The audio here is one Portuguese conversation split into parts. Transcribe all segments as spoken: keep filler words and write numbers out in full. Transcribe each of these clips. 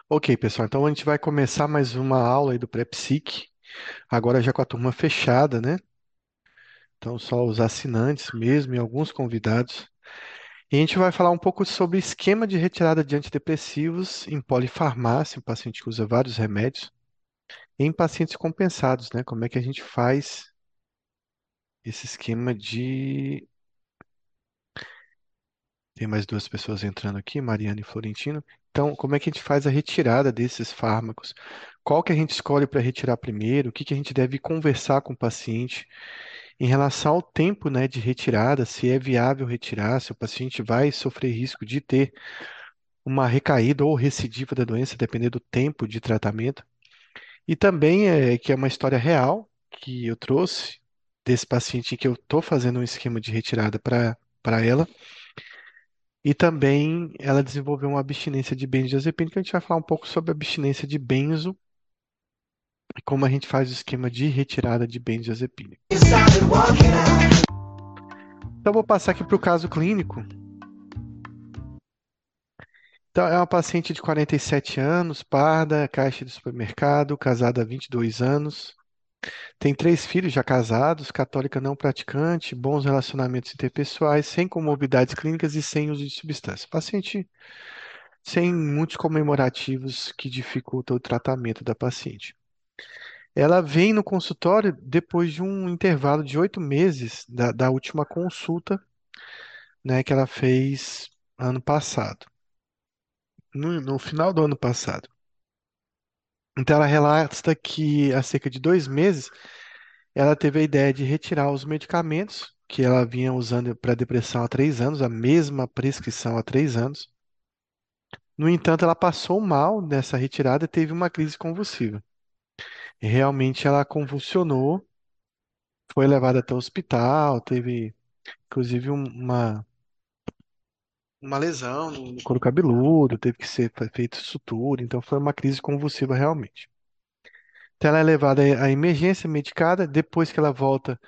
Ok, pessoal, então a gente vai começar mais uma aula aí do pré-psique, agora já com a turma fechada, né? Então só os assinantes mesmo e alguns convidados. E a gente vai falar um pouco sobre esquema de retirada de antidepressivos em polifarmácia, um paciente que usa vários remédios, e em pacientes compensados, né? Como é que a gente faz esse esquema de... Tem mais duas pessoas entrando aqui, Mariana e Florentino. Então, como é que a gente faz a retirada desses fármacos? Qual que a gente escolhe para retirar primeiro? O que que a gente deve conversar com o paciente em relação ao tempo, né, de retirada, se é viável retirar, se o paciente vai sofrer risco de ter uma recaída ou recidiva da doença, dependendo do tempo de tratamento. E também é que é uma história real que eu trouxe desse paciente em que eu estou fazendo um esquema de retirada para para ela. E também ela desenvolveu uma abstinência de benzodiazepina, que a gente vai falar um pouco sobre a abstinência de benzo e como a gente faz o esquema de retirada de benzodiazepina. Então, eu vou passar aqui para o caso clínico. Então, é uma paciente de quarenta e sete anos, parda, caixa de supermercado, casada há vinte e dois anos, tem três filhos já casados, católica não praticante, bons relacionamentos interpessoais, sem comorbidades clínicas e sem uso de substância. Paciente sem muitos comemorativos que dificultam o tratamento da paciente. Ela vem no consultório depois de um intervalo de oito meses da, da última consulta, né, que ela fez ano passado, no, no final do ano passado. Então, ela relata que há cerca de dois meses ela teve a ideia de retirar os medicamentos que ela vinha usando para depressão há três anos, a mesma prescrição há três anos. No entanto, ela passou mal nessa retirada e teve uma crise convulsiva. E realmente ela convulsionou, foi levada até o hospital, teve inclusive um- uma, uma lesão no no couro cabeludo, teve que ser fe- feito sutura, então foi uma crise convulsiva realmente. Então ela é levada à emergência medicada, depois que ela volta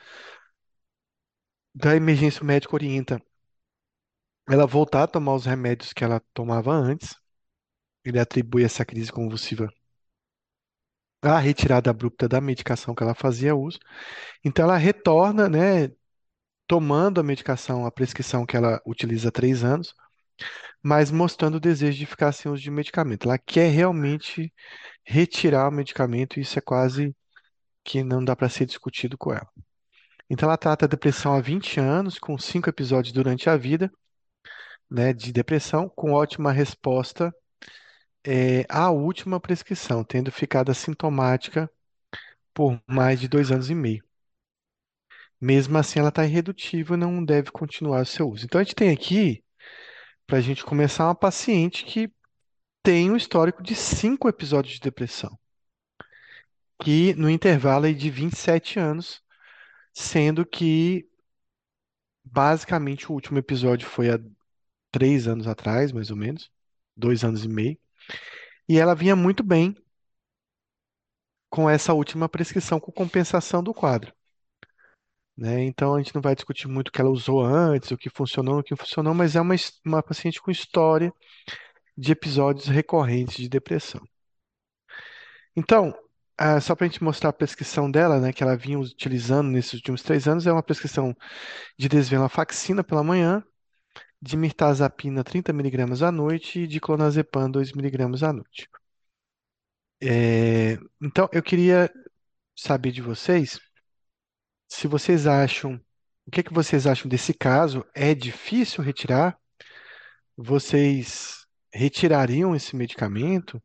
da emergência, o médico orienta ela voltar a tomar os remédios que ela tomava antes. Ele atribui essa crise convulsiva à retirada abrupta da medicação que ela fazia uso. Então ela retorna, né, tomando a medicação, a prescrição que ela utiliza há três anos, mas mostrando o desejo de ficar sem uso de medicamento. Ela quer realmente retirar o medicamento e isso é quase que não dá para ser discutido com ela. Então ela trata a depressão há vinte anos, com cinco episódios durante a vida, né, de depressão, com ótima resposta é, à última prescrição, tendo ficado assintomática por mais de dois anos e meio. Mesmo assim, ela está irredutível e não deve continuar o seu uso. Então, a gente tem aqui, para a gente começar, uma paciente que tem um histórico de cinco episódios de depressão, que no intervalo aí de vinte e sete anos, sendo que basicamente o último episódio foi há três anos atrás, mais ou menos, dois anos e meio, e ela vinha muito bem com essa última prescrição com compensação do quadro. Né? Então a gente não vai discutir muito o que ela usou antes, o que funcionou, o que não funcionou, mas é uma, his- uma paciente com história de episódios recorrentes de depressão. Então, ah, só para a gente mostrar a prescrição dela, né, que ela vinha utilizando nesses últimos três anos, é uma prescrição de desvenlafaxina pela manhã, de mirtazapina trinta miligramas à noite e de clonazepam dois miligramas à noite. É, então, eu queria saber de vocês se vocês acham, o que que vocês acham desse caso? É difícil retirar? Vocês retirariam esse medicamento?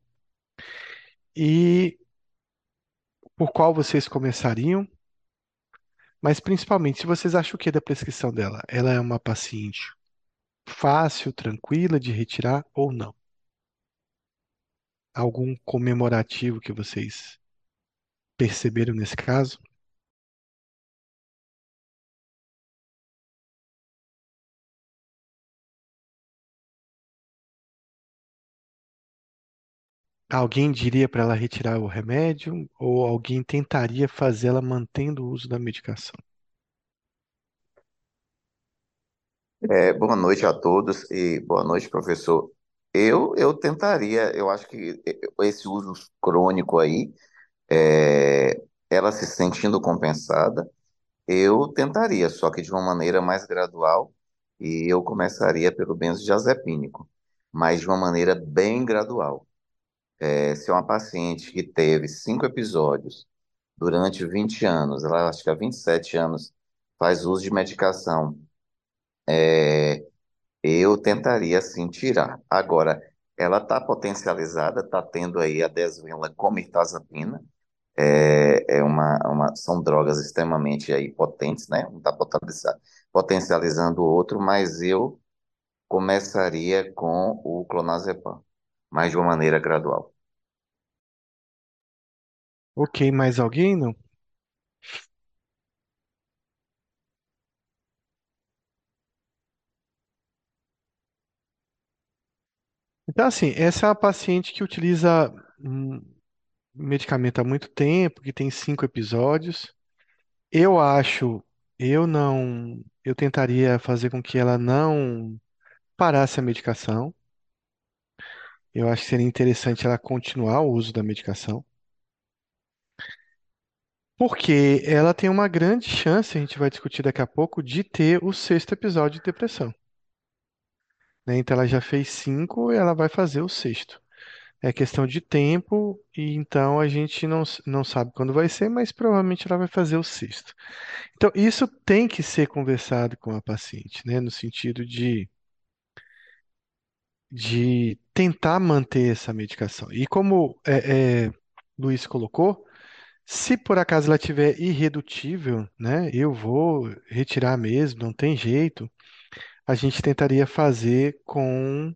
E por qual vocês começariam? Mas principalmente, se vocês acham o que da prescrição dela? Ela é uma paciente fácil, tranquila de retirar ou não? Algum comemorativo que vocês perceberam nesse caso? Alguém diria para ela retirar o remédio ou alguém tentaria fazê-la mantendo o uso da medicação? É, boa noite a todos e boa noite, professor. Eu, eu tentaria, eu acho que esse uso crônico aí, é, ela se sentindo compensada, eu tentaria, só que de uma maneira mais gradual, e eu começaria pelo benzodiazepínico, mas de uma maneira bem gradual. É, se é uma paciente que teve cinco episódios durante vinte anos, ela acho que há vinte e sete anos faz uso de medicação, eu tentaria sim tirar. Agora, ela está potencializada, está tendo aí a desvenla com mirtazapina, é, é uma, uma- são drogas extremamente aí potentes, né? Um está potencializando, potencializando o outro, mas eu começaria com o clonazepam, mas de uma maneira gradual. Ok, mais alguém? Não? Então, assim, essa é uma paciente que utiliza um medicamento há muito tempo, que tem cinco episódios. Eu acho, eu não, eu tentaria fazer com que ela não parasse a medicação. Eu acho que seria interessante ela continuar o uso da medicação, porque ela tem uma grande chance, a gente vai discutir daqui a pouco, de ter o sexto episódio de depressão, né? Então ela já fez cinco, ela vai fazer o sexto. É questão de tempo, e então a gente não, s- não sabe quando vai ser, mas provavelmente ela vai fazer o sexto. Então, isso tem que ser conversado com a paciente, né? No sentido de, de tentar manter essa medicação. E como é, é, Luiz colocou, se por acaso ela tiver irredutível, né? Eu vou retirar mesmo, não tem jeito. A gente tentaria fazer com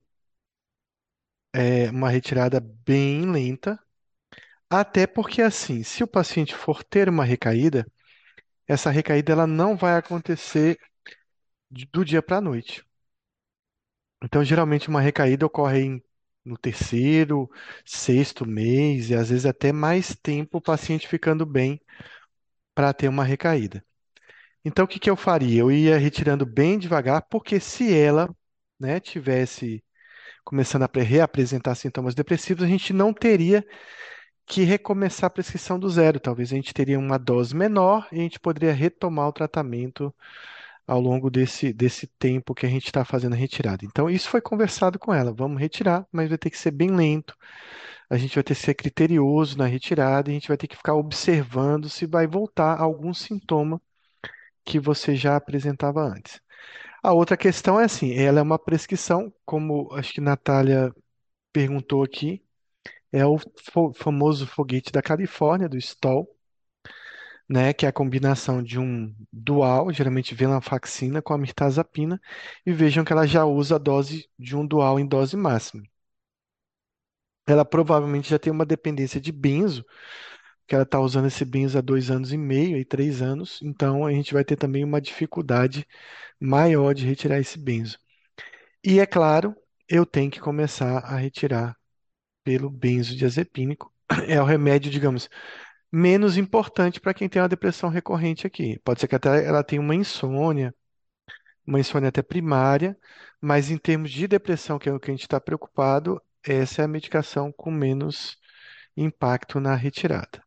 é, uma retirada bem lenta. Até porque, assim, se o paciente for ter uma recaída, essa recaída ela não vai acontecer de- do dia para a noite. Então, geralmente, uma recaída ocorre em- no terceiro, sexto mês, e às vezes até mais tempo o paciente ficando bem para ter uma recaída. Então, o que que eu faria? Eu ia retirando bem devagar, porque se ela, né, tivesse começando a pre- reapresentar sintomas depressivos, a gente não teria que recomeçar a prescrição do zero. Talvez a gente teria uma dose menor e a gente poderia retomar o tratamento ao longo desse, desse tempo que a gente está fazendo a retirada. Então, isso foi conversado com ela. Vamos retirar, mas vai ter que ser bem lento. A gente vai ter que ser criterioso na retirada e a gente vai ter que ficar observando se vai voltar algum sintoma que você já apresentava antes. A outra questão é assim, ela é uma prescrição, como acho que Natália perguntou aqui, é o fo- famoso foguete da Califórnia, do Stol, né, que é a combinação de um dual, geralmente venlafaxina com a mirtazapina, e vejam que ela já usa a dose de um dual em dose máxima. Ela provavelmente já tem uma dependência de benzo, que ela está usando esse benzo há dois anos e meio e três anos, então a gente vai ter também uma dificuldade maior de retirar esse benzo. E é claro, eu tenho que começar a retirar pelo benzodiazepínico. É o remédio, digamos, menos importante para quem tem uma depressão recorrente aqui. Pode ser que até ela tenha uma insônia, uma insônia até primária, mas em termos de depressão, que é o que a gente está preocupado, essa é a medicação com menos impacto na retirada.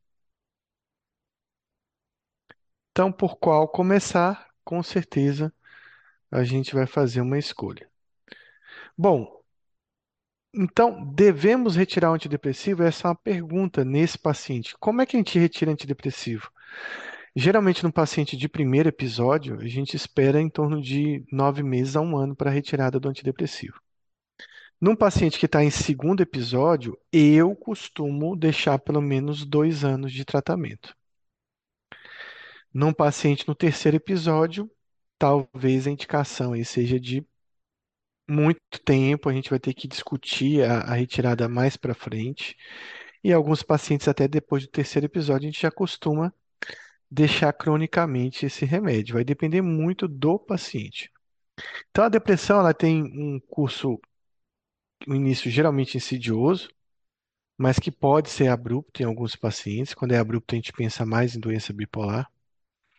Então, por qual começar? Com certeza a gente vai fazer uma escolha. Bom, então devemos retirar o antidepressivo? Essa é uma pergunta nesse paciente. Como é que a gente retira antidepressivo? Geralmente, no paciente de primeiro episódio, a gente espera em torno de nove meses a um ano para a retirada do antidepressivo. Num paciente que está em segundo episódio, eu costumo deixar pelo menos dois anos de tratamento. Num paciente no terceiro episódio, talvez a indicação aí seja de muito tempo, a gente vai ter que discutir a, a retirada mais para frente. E alguns pacientes, até depois do terceiro episódio, a gente já costuma deixar cronicamente esse remédio. Vai depender muito do paciente. Então, a depressão ela tem um curso, um início geralmente insidioso, mas que pode ser abrupto em alguns pacientes. Quando é abrupto, a gente pensa mais em doença bipolar.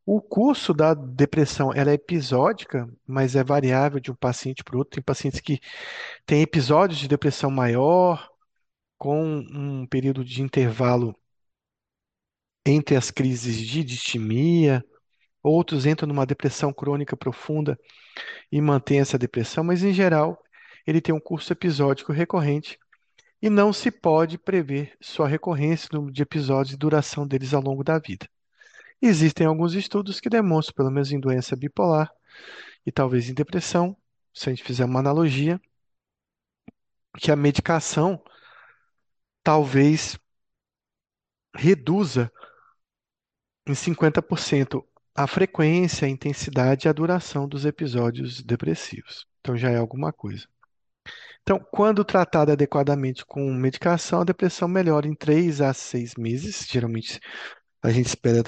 O curso da depressão, ela é episódica, mas é variável de um paciente para o outro. Tem pacientes que têm episódios de depressão maior, com um período de intervalo entre as crises de distimia. Outros entram numa depressão crônica profunda e mantêm essa depressão, mas em geral ele tem um curso episódico recorrente e não se pode prever sua recorrência, número de episódios e duração deles ao longo da vida. Existem alguns estudos que demonstram, pelo menos em doença bipolar e talvez em depressão, se a gente fizer uma analogia, que a medicação talvez reduza em cinquenta por cento a frequência, a intensidade e a duração dos episódios depressivos. Então já é alguma coisa. Então, quando tratada adequadamente com medicação, a depressão melhora em três a seis meses. Geralmente a gente espera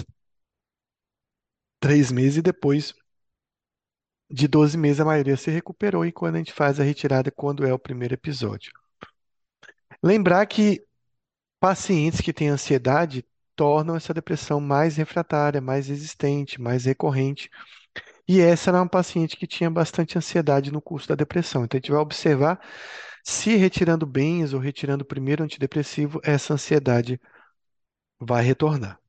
três meses e depois de doze meses a maioria se recuperou e quando a gente faz a retirada, quando é o primeiro episódio. Lembrar que pacientes que têm ansiedade tornam essa depressão mais refratária, mais resistente, mais recorrente. E essa era uma paciente que tinha bastante ansiedade no curso da depressão. Então a gente vai observar se retirando bens ou retirando o primeiro antidepressivo, essa ansiedade vai retornar.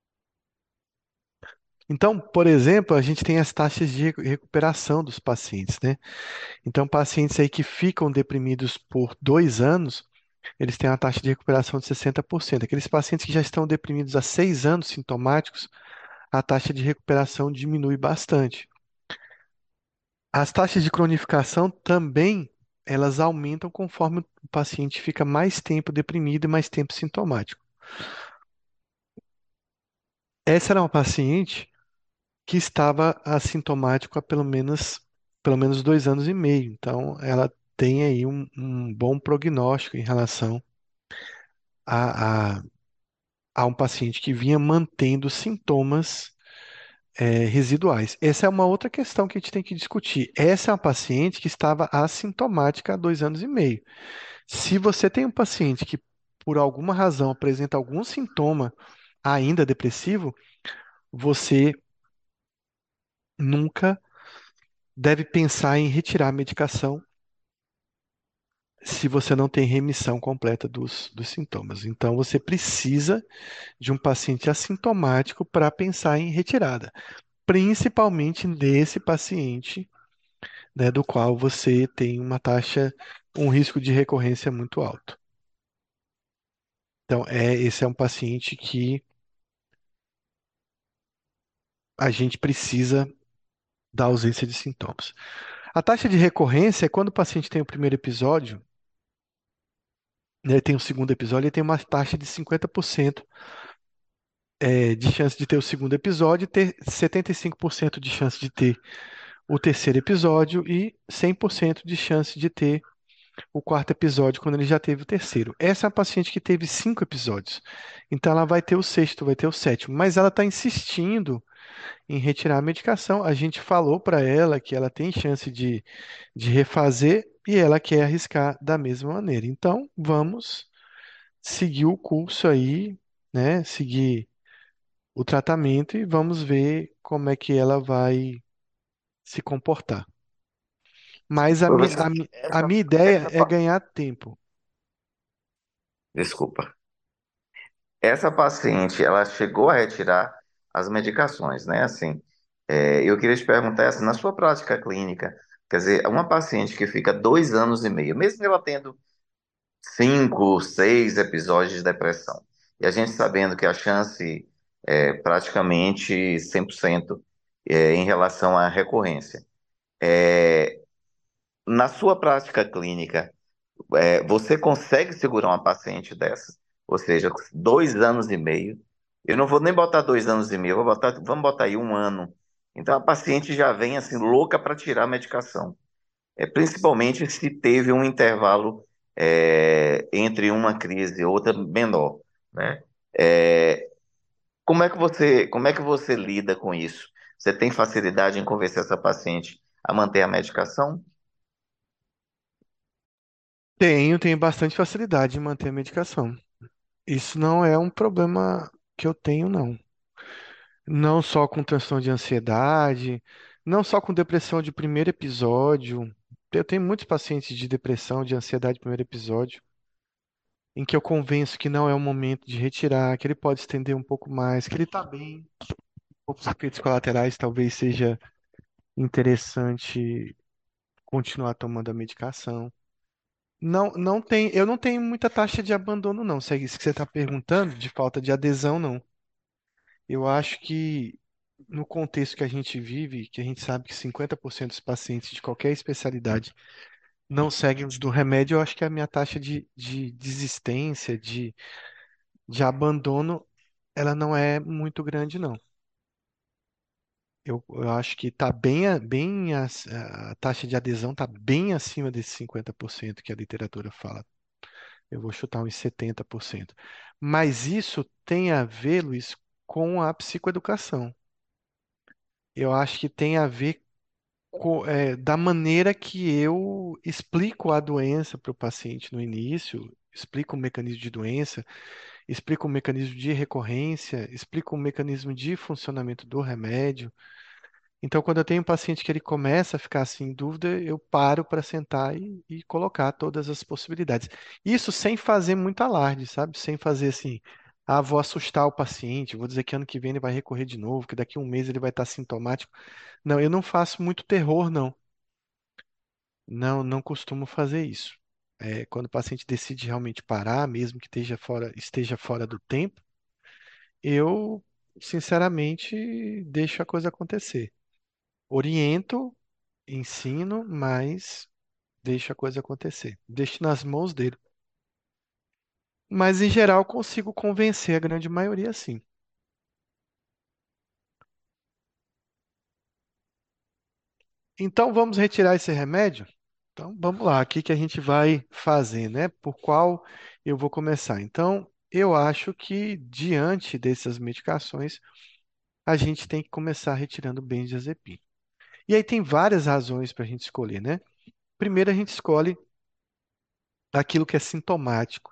Então, por exemplo, a gente tem as taxas de recu- recuperação dos pacientes, né? Então, pacientes aí que ficam deprimidos por dois anos, eles têm uma taxa de recuperação de sessenta por cento. Aqueles pacientes que já estão deprimidos há seis anos sintomáticos, a taxa de recuperação diminui bastante. As taxas de cronificação também, elas aumentam conforme o paciente fica mais tempo deprimido e mais tempo sintomático. Essa era uma paciente que estava assintomático há pelo menos, pelo menos dois anos e meio. Então, ela tem aí um, um bom prognóstico em relação a, a, a um paciente que vinha mantendo sintomas é, residuais. Essa é uma outra questão que a gente tem que discutir. Essa é uma paciente que estava assintomática há dois anos e meio. Se você tem um paciente que, por alguma razão, apresenta algum sintoma ainda depressivo, você nunca deve pensar em retirar a medicação se você não tem remissão completa dos, dos sintomas. Então, você precisa de um paciente assintomático para pensar em retirada, principalmente nesse paciente, né, do qual você tem uma taxa, um risco de recorrência muito alto. Então, é, esse é um paciente que a gente precisa da ausência de sintomas. A taxa de recorrência é quando o paciente tem o primeiro episódio, né, tem o segundo episódio, ele tem uma taxa de cinquenta por cento é, de chance de ter o segundo episódio, ter setenta e cinco por cento de chance de ter o terceiro episódio e cem por cento de chance de ter o quarto episódio quando ele já teve o terceiro. Essa é a paciente que teve cinco episódios. Então ela vai ter o sexto, vai ter o sétimo, mas ela está insistindo em retirar a medicação. A gente falou para ela que ela tem chance de, de refazer e ela quer arriscar da mesma maneira. Então vamos seguir o curso aí, né? Seguir o tratamento e vamos ver como é que ela vai se comportar. Mas a minha, Professor, a, mi- a essa, minha ideia essa, é pa- ganhar tempo. desculpa. Essa paciente, ela chegou a retirar as medicações, né? Assim, é, eu queria te perguntar, assim, na sua prática clínica, quer dizer, uma paciente que fica dois anos e meio, mesmo ela tendo cinco, seis episódios de depressão, e a gente sabendo que a chance é praticamente cem por cento é, em relação à recorrência. É, na sua prática clínica, é, você consegue segurar uma paciente dessa? Ou seja, dois anos e meio. Eu não vou nem botar dois anos e meio, eu vou botar, vamos botar aí um ano. Então a paciente já vem assim louca para tirar a medicação. É, principalmente se teve um intervalo é, entre uma crise e outra menor, né? É, como é que você, como é que você lida com isso? Você tem facilidade em convencer essa paciente a manter a medicação? Tenho, tenho bastante facilidade em manter a medicação. Isso não é um problema que eu tenho, não. Não só com transtorno de ansiedade, não só com depressão de primeiro episódio. Eu tenho muitos pacientes de depressão, de ansiedade de primeiro episódio, em que eu convenço que não é o momento de retirar, que ele pode estender um pouco mais, que ele está bem. Poucos efeitos colaterais, talvez seja interessante continuar tomando a medicação. Não, não tem, eu não tenho muita taxa de abandono, não. Se é isso que você está perguntando, de falta de adesão, não. Eu acho que no contexto que a gente vive, que a gente sabe que cinquenta por cento dos pacientes de qualquer especialidade não seguem os do remédio, eu acho que a minha taxa de, de desistência, de, de abandono, ela não é muito grande, não. Eu, eu acho que está bem, a- bem as- a taxa de adesão está bem acima desses cinquenta por cento que a literatura fala. Eu vou chutar uns setenta por cento. Mas isso tem a ver, Luiz, com a psicoeducação. Eu acho que tem a ver co- é, da maneira que eu explico a doença para o paciente no início, explico o mecanismo de doença, explico o mecanismo de recorrência, explico o mecanismo de funcionamento do remédio. Então, quando eu tenho um paciente que ele começa a ficar assim em dúvida, eu paro para sentar e, e colocar todas as possibilidades. Isso sem fazer muito alarde, sabe? Sem fazer assim, ah, vou assustar o paciente, vou dizer que ano que vem ele vai recorrer de novo, que daqui a um mês ele vai estar sintomático. Não, eu não faço muito terror, não. Não, não costumo fazer isso. É, quando o paciente decide realmente parar, mesmo que esteja fora, esteja fora do tempo, eu, sinceramente, deixo a coisa acontecer. Oriento, ensino, mas deixo a coisa acontecer. Deixo nas mãos dele. Mas, em geral, consigo convencer a grande maioria, sim. Então, vamos retirar esse remédio? Então, vamos lá. O que que a gente vai fazer, né? Por qual eu vou começar? Então, eu acho que, diante dessas medicações, a gente tem que começar retirando benzodiazepina. E aí tem várias razões para a gente escolher, né? Primeiro, a gente escolhe aquilo que é sintomático,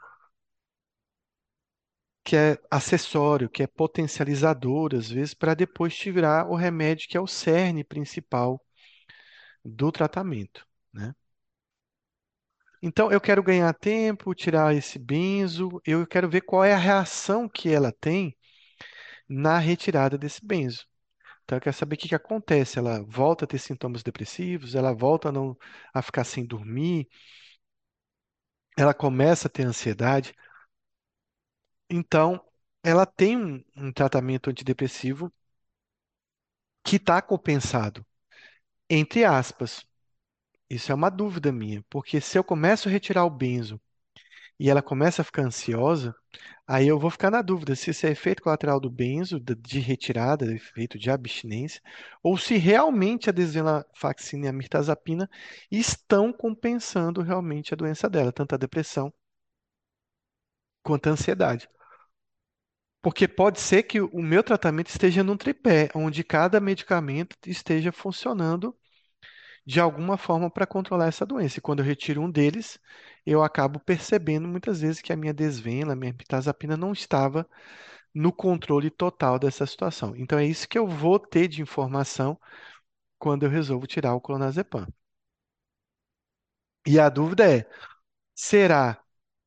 que é acessório, que é potencializador, às vezes, para depois tirar o remédio que é o cerne principal do tratamento, né? Então, eu quero ganhar tempo, tirar esse benzo, eu quero ver qual é a reação que ela tem na retirada desse benzo. Então, eu quero saber o que que acontece. Ela volta a ter sintomas depressivos, ela volta a não a ficar sem dormir, ela começa a ter ansiedade. Então, ela tem um, um tratamento antidepressivo que está compensado, entre aspas. Isso é uma dúvida minha, porque se eu começo a retirar o benzo e ela começa a ficar ansiosa, aí eu vou ficar na dúvida se isso é efeito colateral do benzo, da- de retirada, efeito de abstinência, ou se realmente a desvenlafaxina e a mirtazapina estão compensando realmente a doença dela, tanto a depressão quanto a ansiedade. Porque pode ser que o meu tratamento esteja num tripé, onde cada medicamento esteja funcionando de alguma forma para controlar essa doença. E quando eu retiro um deles, eu acabo percebendo muitas vezes que a minha desvena, a minha pitazapina não estava no controle total dessa situação. Então é isso que eu vou ter de informação quando eu resolvo tirar o clonazepam. E a dúvida é, será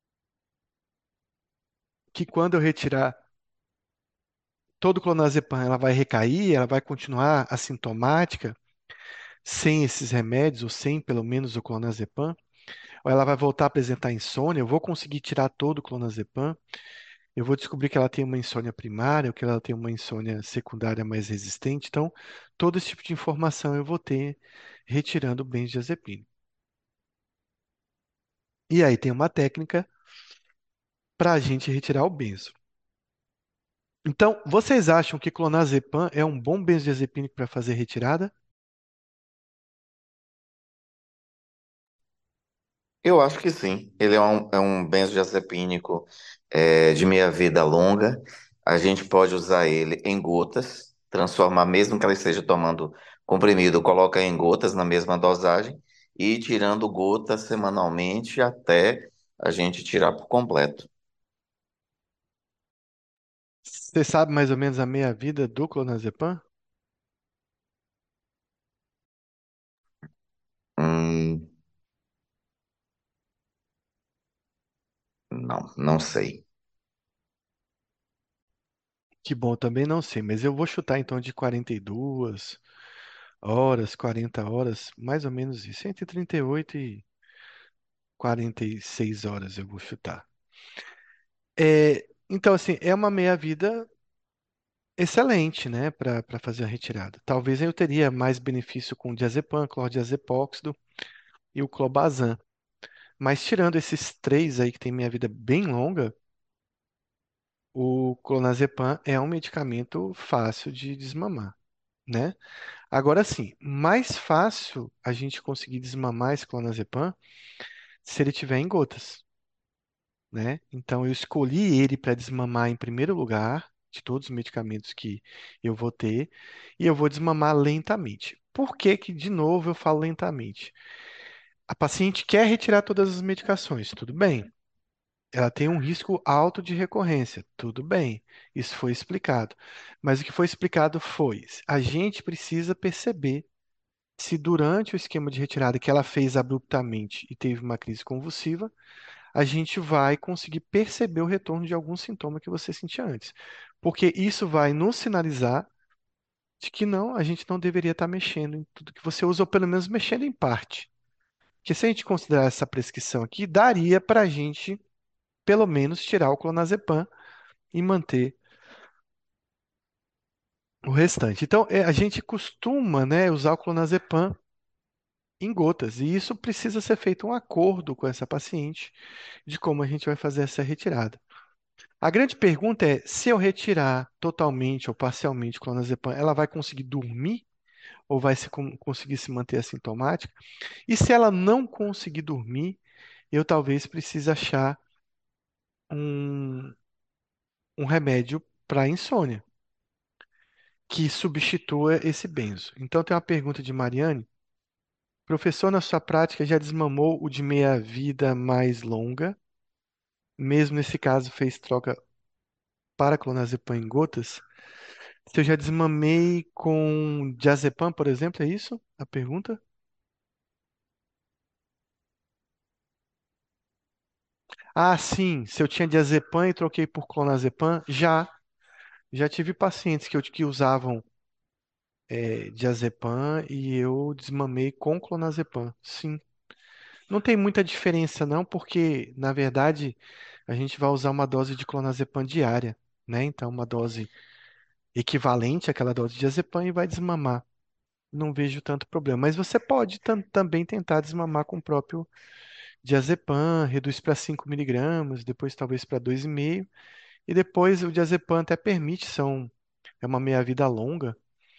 que quando eu retirar todo o clonazepam, ela vai recair, ela vai continuar assintomática, sem esses remédios, ou sem pelo menos o clonazepam? Ou ela vai voltar a apresentar insônia? Eu vou conseguir tirar todo o clonazepam? Eu vou descobrir que ela tem uma insônia primária, ou que ela tem uma insônia secundária mais resistente. Então, todo esse tipo de informação eu vou ter retirando o benzodiazepina. E aí tem uma técnica para a gente retirar o benzo. Então, vocês acham que clonazepam é um bom benzodiazepínico para fazer retirada? Eu acho que sim. Ele é um, é um benzodiazepínico é, de meia-vida longa. A gente pode usar ele em gotas, transformar, mesmo que ela esteja tomando comprimido, coloca em gotas na mesma dosagem e ir tirando gotas semanalmente até a gente tirar por completo. Você sabe mais ou menos a meia-vida do clonazepam? Hum, não, não sei. Que bom, também não sei, mas eu vou chutar então de quarenta e duas horas, quarenta horas, mais ou menos isso. Entre trinta e oito e quarenta e seis horas eu vou chutar. É, então, assim, é uma meia-vida excelente, né, para para fazer a retirada. Talvez eu teria mais benefício com o diazepam, clordiazepóxido e o clobazam. Mas tirando esses três aí que tem meia vida bem longa, o clonazepam é um medicamento fácil de desmamar, né? Agora sim, mais fácil a gente conseguir desmamar esse clonazepam se ele tiver em gotas, né? Então eu escolhi ele para desmamar em primeiro lugar de todos os medicamentos que eu vou ter e eu vou desmamar lentamente. Por que que, de novo, eu falo lentamente? A paciente quer retirar todas as medicações, tudo bem. Ela tem um risco alto de recorrência, tudo bem. Isso foi explicado. Mas o que foi explicado foi: a gente precisa perceber se durante o esquema de retirada que ela fez abruptamente e teve uma crise convulsiva, a gente vai conseguir perceber o retorno de algum sintoma que você sentia antes. Porque isso vai nos sinalizar de que não, a gente não deveria estar mexendo em tudo que você usa, ou pelo menos mexendo em parte. Porque se a gente considerar essa prescrição aqui, daria para a gente, pelo menos, tirar o clonazepam e manter o restante. Então, é, a gente costuma, né, usar o clonazepam em gotas, e isso precisa ser feito um acordo com essa paciente de como a gente vai fazer essa retirada. A grande pergunta é, se eu retirar totalmente ou parcialmente o clonazepam, ela vai conseguir dormir ou vai se, con- conseguir se manter assintomática? E se ela não conseguir dormir, eu talvez precise achar um, um remédio para insônia que substitua esse benzo. Então, tem uma pergunta de Mariane. Professor, na sua prática, já desmamou o de meia-vida mais longa? Mesmo nesse caso, fez troca para clonazepam em gotas? Se eu já desmamei com diazepam, por exemplo, é isso a pergunta? Ah, sim. Se eu tinha diazepam e troquei por clonazepam, já. Já tive pacientes que, eu, que usavam é, diazepam e eu desmamei com clonazepam. Sim. Não tem muita diferença, não, porque, na verdade, a gente vai usar uma dose de clonazepam diária, né? Então, uma dose equivalente àquela dose de diazepam e vai desmamar. Não vejo tanto problema. Mas você pode tam- também tentar desmamar com o próprio diazepam, reduz para cinco miligramas, depois talvez para dois vírgula cinco, e depois o diazepam até permite, são, é uma meia-vida longa,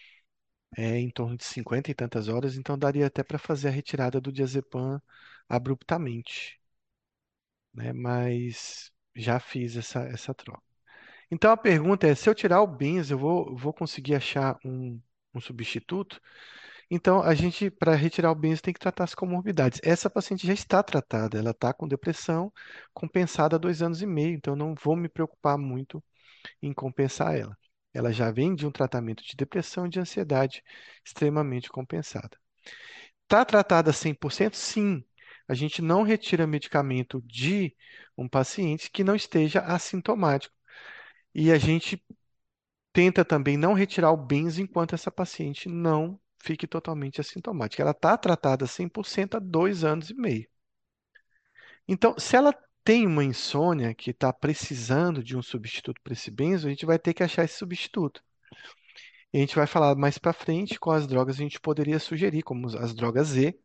é em torno de cinquenta e tantas horas, então daria até para fazer a retirada do diazepam abruptamente, né? Mas já fiz essa, essa troca. Então a pergunta é, se eu tirar o benzo, eu vou, vou conseguir achar um, um substituto? Então a gente, para retirar o benzo, tem que tratar as comorbidades. Essa paciente já está tratada, ela está com depressão compensada há dois anos e meio, então eu não vou me preocupar muito em compensar ela. Ela já vem de um tratamento de depressão e de ansiedade extremamente compensada. Está tratada cem por cento? Sim. A gente não retira medicamento de um paciente que não esteja assintomático. E a gente tenta também não retirar o benzo enquanto essa paciente não fique totalmente assintomática. Ela está tratada cem por cento há dois anos e meio. Então, se ela tem uma insônia que está precisando de um substituto para esse benzo, a gente vai ter que achar esse substituto. E a gente vai falar mais para frente quais drogas a gente poderia sugerir, como as drogas Z,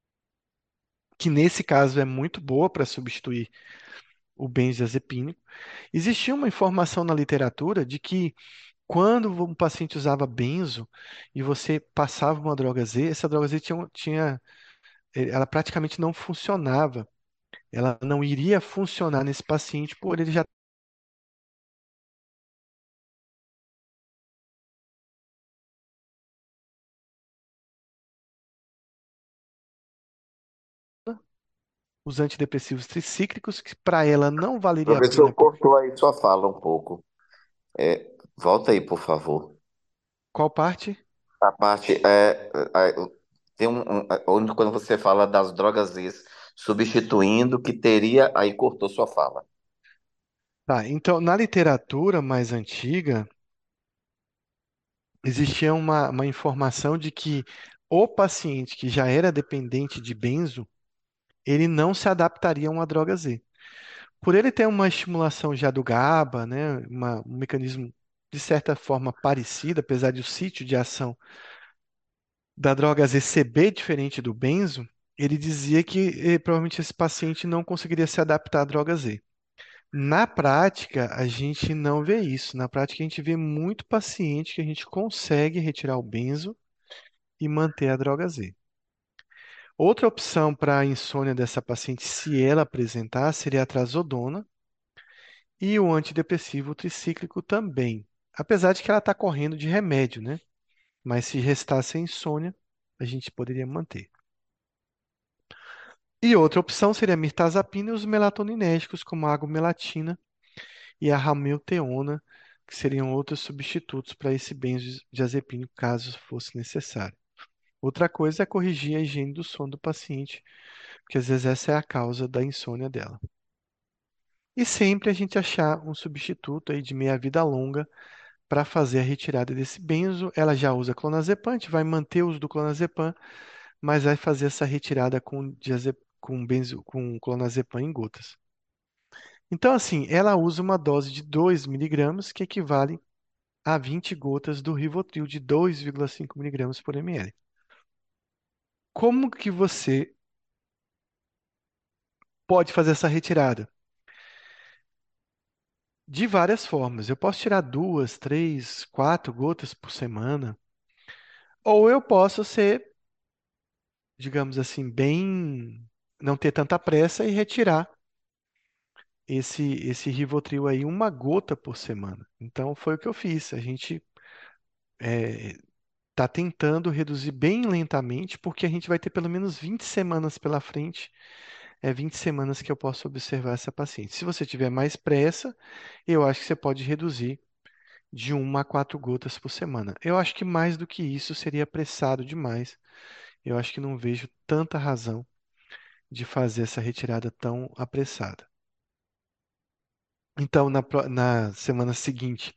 que nesse caso é muito boa para substituir o benzodiazepínico. Existia uma informação na literatura de que quando um paciente usava benzo e você passava uma droga Z, essa droga Z tinha, tinha- eh, ela praticamente não funcionava. Ela não iria funcionar nesse paciente por ele já os antidepressivos tricíclicos, que para ela não valeria a Professor, pena. por- cortou aí sua fala um pouco. É, volta aí, por favor. Qual parte? A parte é, é, tem um, um- é, onde quando você fala das drogas is, substituindo que teria, aí cortou sua fala. Tá, então, na literatura mais antiga, existia uma, uma informação de que o paciente que já era dependente de benzo, ele não se adaptaria a uma droga Z. Por ele ter uma estimulação já do GABA, né, uma- um mecanismo de certa forma parecido, apesar de o sítio de ação da droga Z ser bem diferente do benzo, ele dizia que eh, provavelmente esse paciente não conseguiria se adaptar à droga Z. Na prática, a gente não vê isso. Na prática, a gente vê muito paciente que a gente consegue retirar o benzo e manter a droga Z. Outra opção para a insônia dessa paciente, se ela apresentar, seria a trazodona e o antidepressivo tricíclico também. Apesar de que ela está correndo de remédio, né? Mas se restasse a insônia, a gente poderia manter. E outra opção seria a mirtazapina e os melatoninérgicos, como a agomelatina e a ramilteona, que seriam outros substitutos para esse benzodiazepínico, caso fosse necessário. Outra coisa é corrigir a higiene do sono do paciente, porque às vezes essa é a causa da insônia dela. E sempre a gente achar um substituto aí de meia-vida longa para fazer a retirada desse benzo. Ela já usa clonazepam, a gente vai manter o uso do clonazepam, mas vai fazer essa retirada com, diaze- com benzo, com clonazepam em gotas. Então, assim, ela usa uma dose de dois miligramas, que equivale a vinte gotas do Rivotril de dois vírgula cinco miligramas por ml. Como que você pode fazer essa retirada? De várias formas. Eu posso tirar duas, três, quatro gotas por semana, ou eu posso ser, digamos assim, bem, não ter tanta pressa e retirar esse esse Rivotril aí uma gota por semana. Então foi o que eu fiz. A gente está tentando reduzir bem lentamente, porque a gente vai ter pelo menos vinte semanas pela frente. É vinte semanas que eu posso observar essa paciente. Se você tiver mais pressa, eu acho que você pode reduzir de uma a quatro gotas por semana. Eu acho que mais do que isso seria apressado demais. Eu acho que não vejo tanta razão de fazer essa retirada tão apressada. Então, na, pró- na semana seguinte,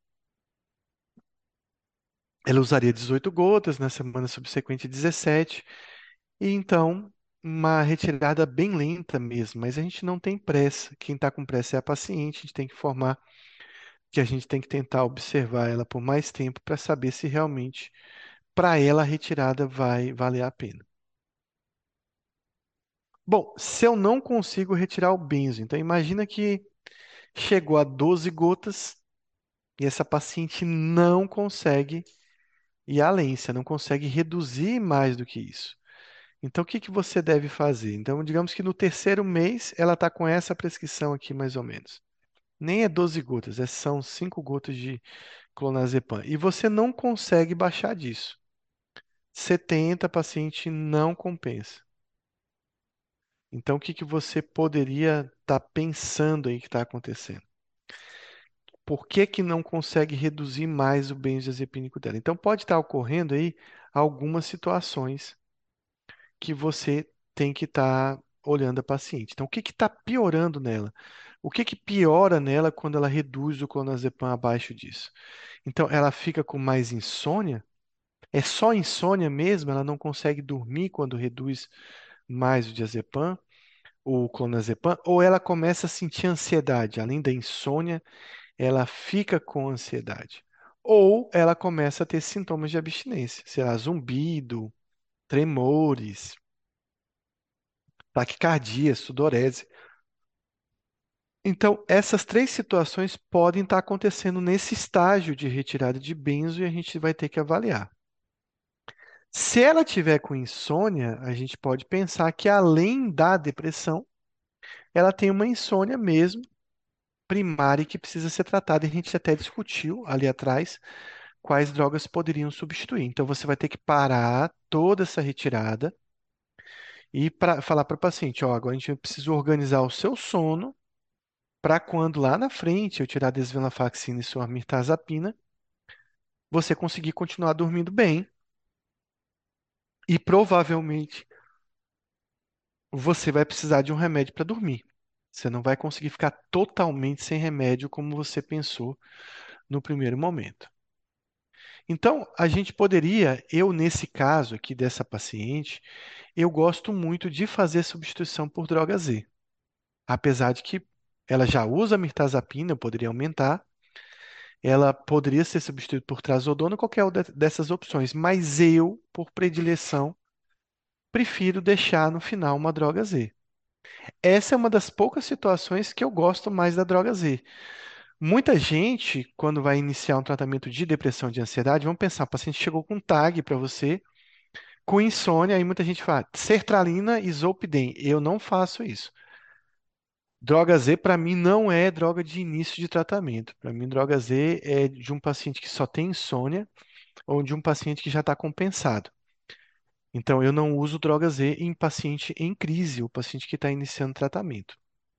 ela usaria dezoito gotas, na semana subsequente dezessete, e então uma retirada bem lenta mesmo, mas a gente não tem pressa. Quem está com pressa é a paciente, a gente tem que informar que a gente tem que tentar observar ela por mais tempo para saber se realmente para ela a retirada vai valer a pena. Bom, se eu não consigo retirar o benzo, então imagina que chegou a doze gotas e essa paciente não consegue ir além, você não consegue reduzir mais do que isso. Então, o que que você deve fazer? Então, digamos que no terceiro mês ela está com essa prescrição aqui, mais ou menos. Nem é doze gotas, é- são cinco gotas de clonazepam. E você não consegue baixar disso. setenta paciente não compensa. Então, o que que você poderia estar pensando aí que está acontecendo? Por que que não consegue reduzir mais o benzodiazepínico dela? Então, pode estar ocorrendo aí algumas situações que você tem que estar olhando a paciente. Então, o que que está piorando nela? O que que piora nela quando ela reduz o clonazepam abaixo disso? Então, ela fica com mais insônia? É só insônia mesmo? Ela não consegue dormir quando reduz mais o diazepam, o clonazepam? Ou ela começa a sentir ansiedade? Além da insônia, ela fica com ansiedade. Ou ela começa a ter sintomas de abstinência, sei lá, zumbido, tremores, taquicardia, sudorese. Então, essas três situações podem estar acontecendo nesse estágio de retirada de benzo e a gente vai ter que avaliar. Se ela tiver com insônia, a gente pode pensar que além da depressão, ela tem uma insônia mesmo primária que precisa ser tratada. E a gente até discutiu ali atrás quais drogas poderiam substituir. Então você vai ter que parar toda essa retirada e pra, falar para o paciente, ó, agora a gente precisa organizar o seu sono para quando lá na frente eu tirar a desvenlafaxina e sua mirtazapina, você conseguir continuar dormindo bem e provavelmente você vai precisar de um remédio para dormir. Você não vai conseguir ficar totalmente sem remédio como você pensou no primeiro momento. Então, a gente poderia, eu nesse caso aqui dessa paciente, eu gosto muito de fazer substituição por droga Z. Apesar de que ela já usa mirtazapina, eu poderia aumentar, ela poderia ser substituída por trazodona ou qualquer outra dessas opções, mas eu, por predileção, prefiro deixar no final uma droga Z. Essa é uma das poucas situações que eu gosto mais da droga Z. Muita gente, quando vai iniciar um tratamento de depressão e de ansiedade, vão pensar, o paciente chegou com um tag para você, com insônia, aí muita gente fala, sertralina e zolpidem. Eu não faço isso. Droga Z, para mim, não é droga de início de tratamento. Para mim, droga Z é de um paciente que só tem insônia ou de um paciente que já está compensado. Então, eu não uso droga Z em paciente em crise, ou paciente que está iniciando tratamento.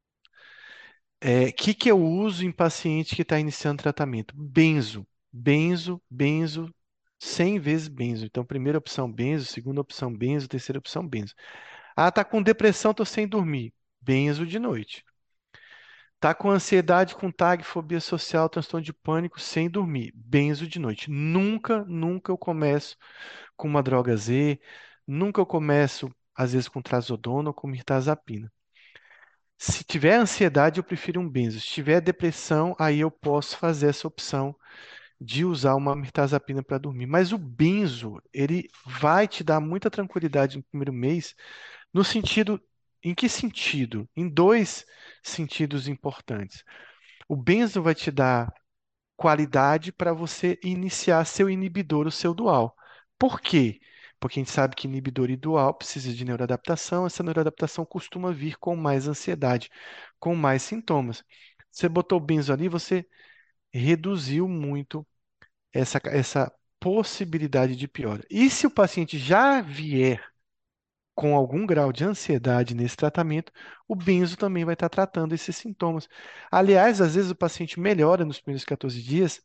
O que que eu uso em paciente que está iniciando tratamento? Benzo, benzo, benzo, cem vezes benzo. Então, primeira opção, benzo, segunda opção, benzo, terceira opção, benzo. Ah, tá com depressão, tô sem dormir. Benzo de noite. Tá com ansiedade, com tag, fobia social, transtorno de pânico, sem dormir. Benzo de noite. Nunca, nunca eu começo com uma droga Z, nunca eu começo, às vezes, com trazodona ou com mirtazapina. Se tiver ansiedade, eu prefiro um benzo. Se tiver depressão, aí eu posso fazer essa opção de usar uma mirtazapina para dormir. Mas o benzo, ele vai te dar muita tranquilidade no primeiro mês, no sentido, em que sentido? Em dois sentidos importantes. O benzo vai te dar qualidade para você iniciar seu inibidor, o seu dual. Por quê? Porque a gente sabe que inibidor e dual precisa de neuroadaptação, essa neuroadaptação costuma vir com mais ansiedade, com mais sintomas. Você botou o benzo ali, você reduziu muito essa, essa possibilidade de piora. E se o paciente já vier com algum grau de ansiedade nesse tratamento, o benzo também vai estar tratando esses sintomas. Aliás, às vezes o paciente melhora nos primeiros quatorze dias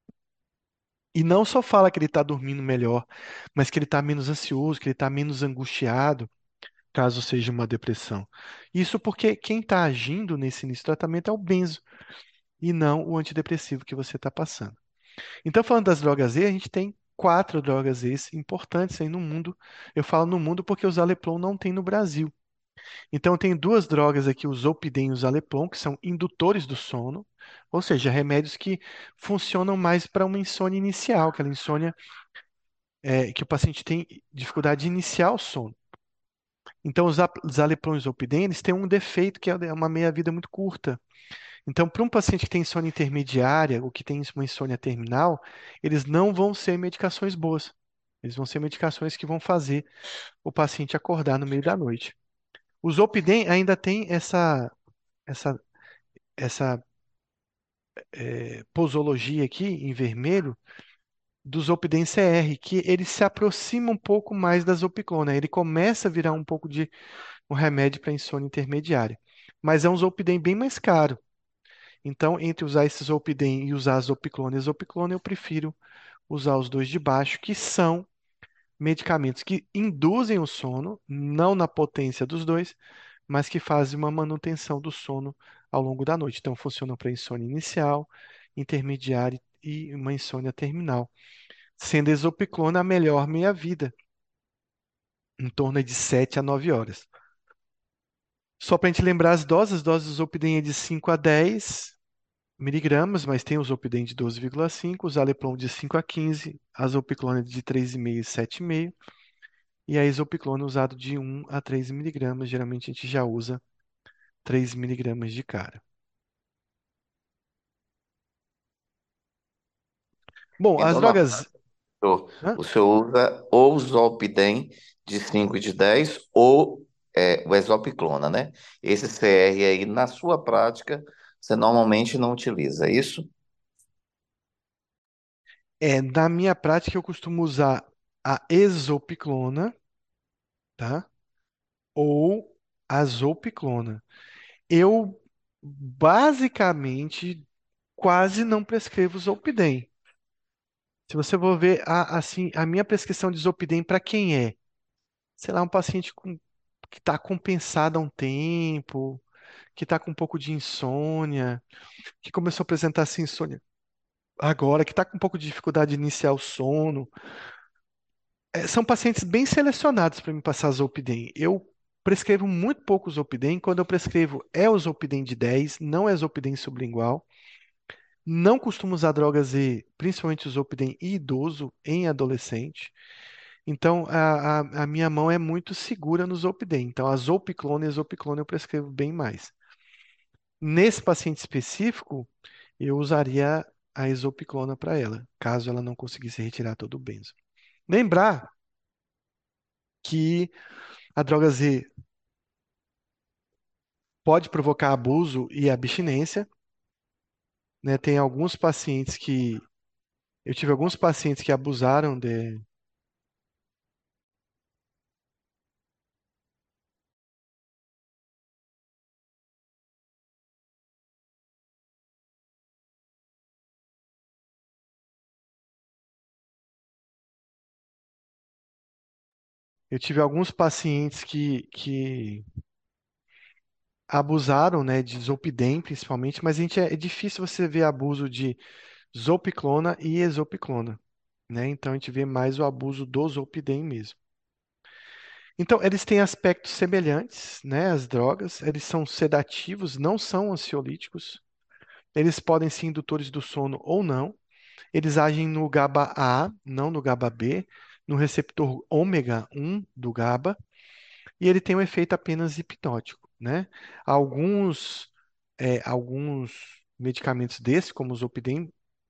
e não só fala que ele está dormindo melhor, mas que ele está menos ansioso, que ele está menos angustiado, caso seja uma depressão. Isso porque quem está agindo nesse início do tratamento é o benzo e não o antidepressivo que você está passando. Então, falando das drogas Z, a gente tem quatro drogas Z importantes aí no mundo. Eu falo no mundo porque o Zaleplon não tem no Brasil. Então, tem duas drogas aqui, o Zolpidem e o Zaleplon, que são indutores do sono, ou seja, remédios que funcionam mais para uma insônia inicial, aquela insônia é, que o paciente tem dificuldade de iniciar o sono. Então, os ap- Zaleplon e Zolpidem, eles têm um defeito que é uma meia-vida muito curta. Então, para um paciente que tem insônia intermediária ou que tem uma insônia terminal, eles não vão ser medicações boas. Eles vão ser medicações que vão fazer o paciente acordar no meio da noite. O Zolpidem ainda tem essa, essa, essa eh, posologia aqui em vermelho do Zolpidem C R, que ele se aproxima um pouco mais da Zolpiclona. Ele começa a virar um pouco de um remédio para insônia intermediária. Mas é um Zolpidem bem mais caro. Então, entre usar esse Zolpidem e usar a Zolpiclona e a Zolpiclona, eu prefiro usar os dois de baixo, que são medicamentos que induzem o sono, não na potência dos dois, mas que fazem uma manutenção do sono ao longo da noite. Então, funcionam para insônia inicial, intermediária e uma insônia terminal. Sendo a Zolpiclona a melhor meia-vida, em torno de sete a nove horas. Só para a gente lembrar as doses, as doses do Zolpidem é de cinco a dez miligramas, mas tem o Zolpidem de doze vírgula cinco, o Zaleplon de cinco a quinze, a Zolpiclona de três vírgula cinco e sete vírgula cinco, e a Isopiclona usado de um a três miligramas. Geralmente a gente já usa três miligramas de cara. Bom, E as normalmente drogas. Hã? o senhor usa ou o Zolpidem de cinco e de dez ou é, o Exopiclona, né? Esse C R aí, na sua prática, você normalmente não utiliza, é isso? É, na minha prática, eu costumo usar a Exopiclona, tá? Ou a Zolpiclona. Eu Basicamente, quase não prescrevo Zolpidem. Se você for ver, a, assim, a minha prescrição de Zolpidem para quem é? Sei lá, um paciente com- que está compensado há um tempo, que está com um pouco de insônia, que começou a apresentar essa insônia agora, que está com um pouco de dificuldade de iniciar o sono. É, são pacientes bem selecionados para me passar Zolpidem. Eu prescrevo muito pouco Zolpidem. Quando eu prescrevo, é o Zolpidem de dez, não é Zolpidem sublingual. Não costumo usar drogas E, principalmente o Zolpidem e idoso em adolescente. Então, a, a, a minha mão é muito segura no Zolpidem. Então, a Zolpiclona e a Zolpiclona eu prescrevo bem mais. Nesse paciente específico, eu usaria a Exopiclona para ela, caso ela não conseguisse retirar todo o benzo. Lembrar que a droga Z pode provocar abuso e abstinência, né? Tem alguns pacientes que eu tive alguns pacientes que abusaram de. Eu tive alguns pacientes que, que abusaram, né, de Zolpidem, principalmente, mas a gente é, é difícil você ver abuso de Zolpiclona e Exopiclona, né? Então a gente vê mais o abuso do Zolpidem mesmo. Então, eles têm aspectos semelhantes, né, as drogas, eles são sedativos, não são ansiolíticos, eles podem ser indutores do sono ou não, eles agem no GABA A, não no GABA B, no receptor ômega um do GABA, e ele tem um efeito apenas hipnótico, né? Alguns, é, alguns medicamentos desses, como o Zolpidem,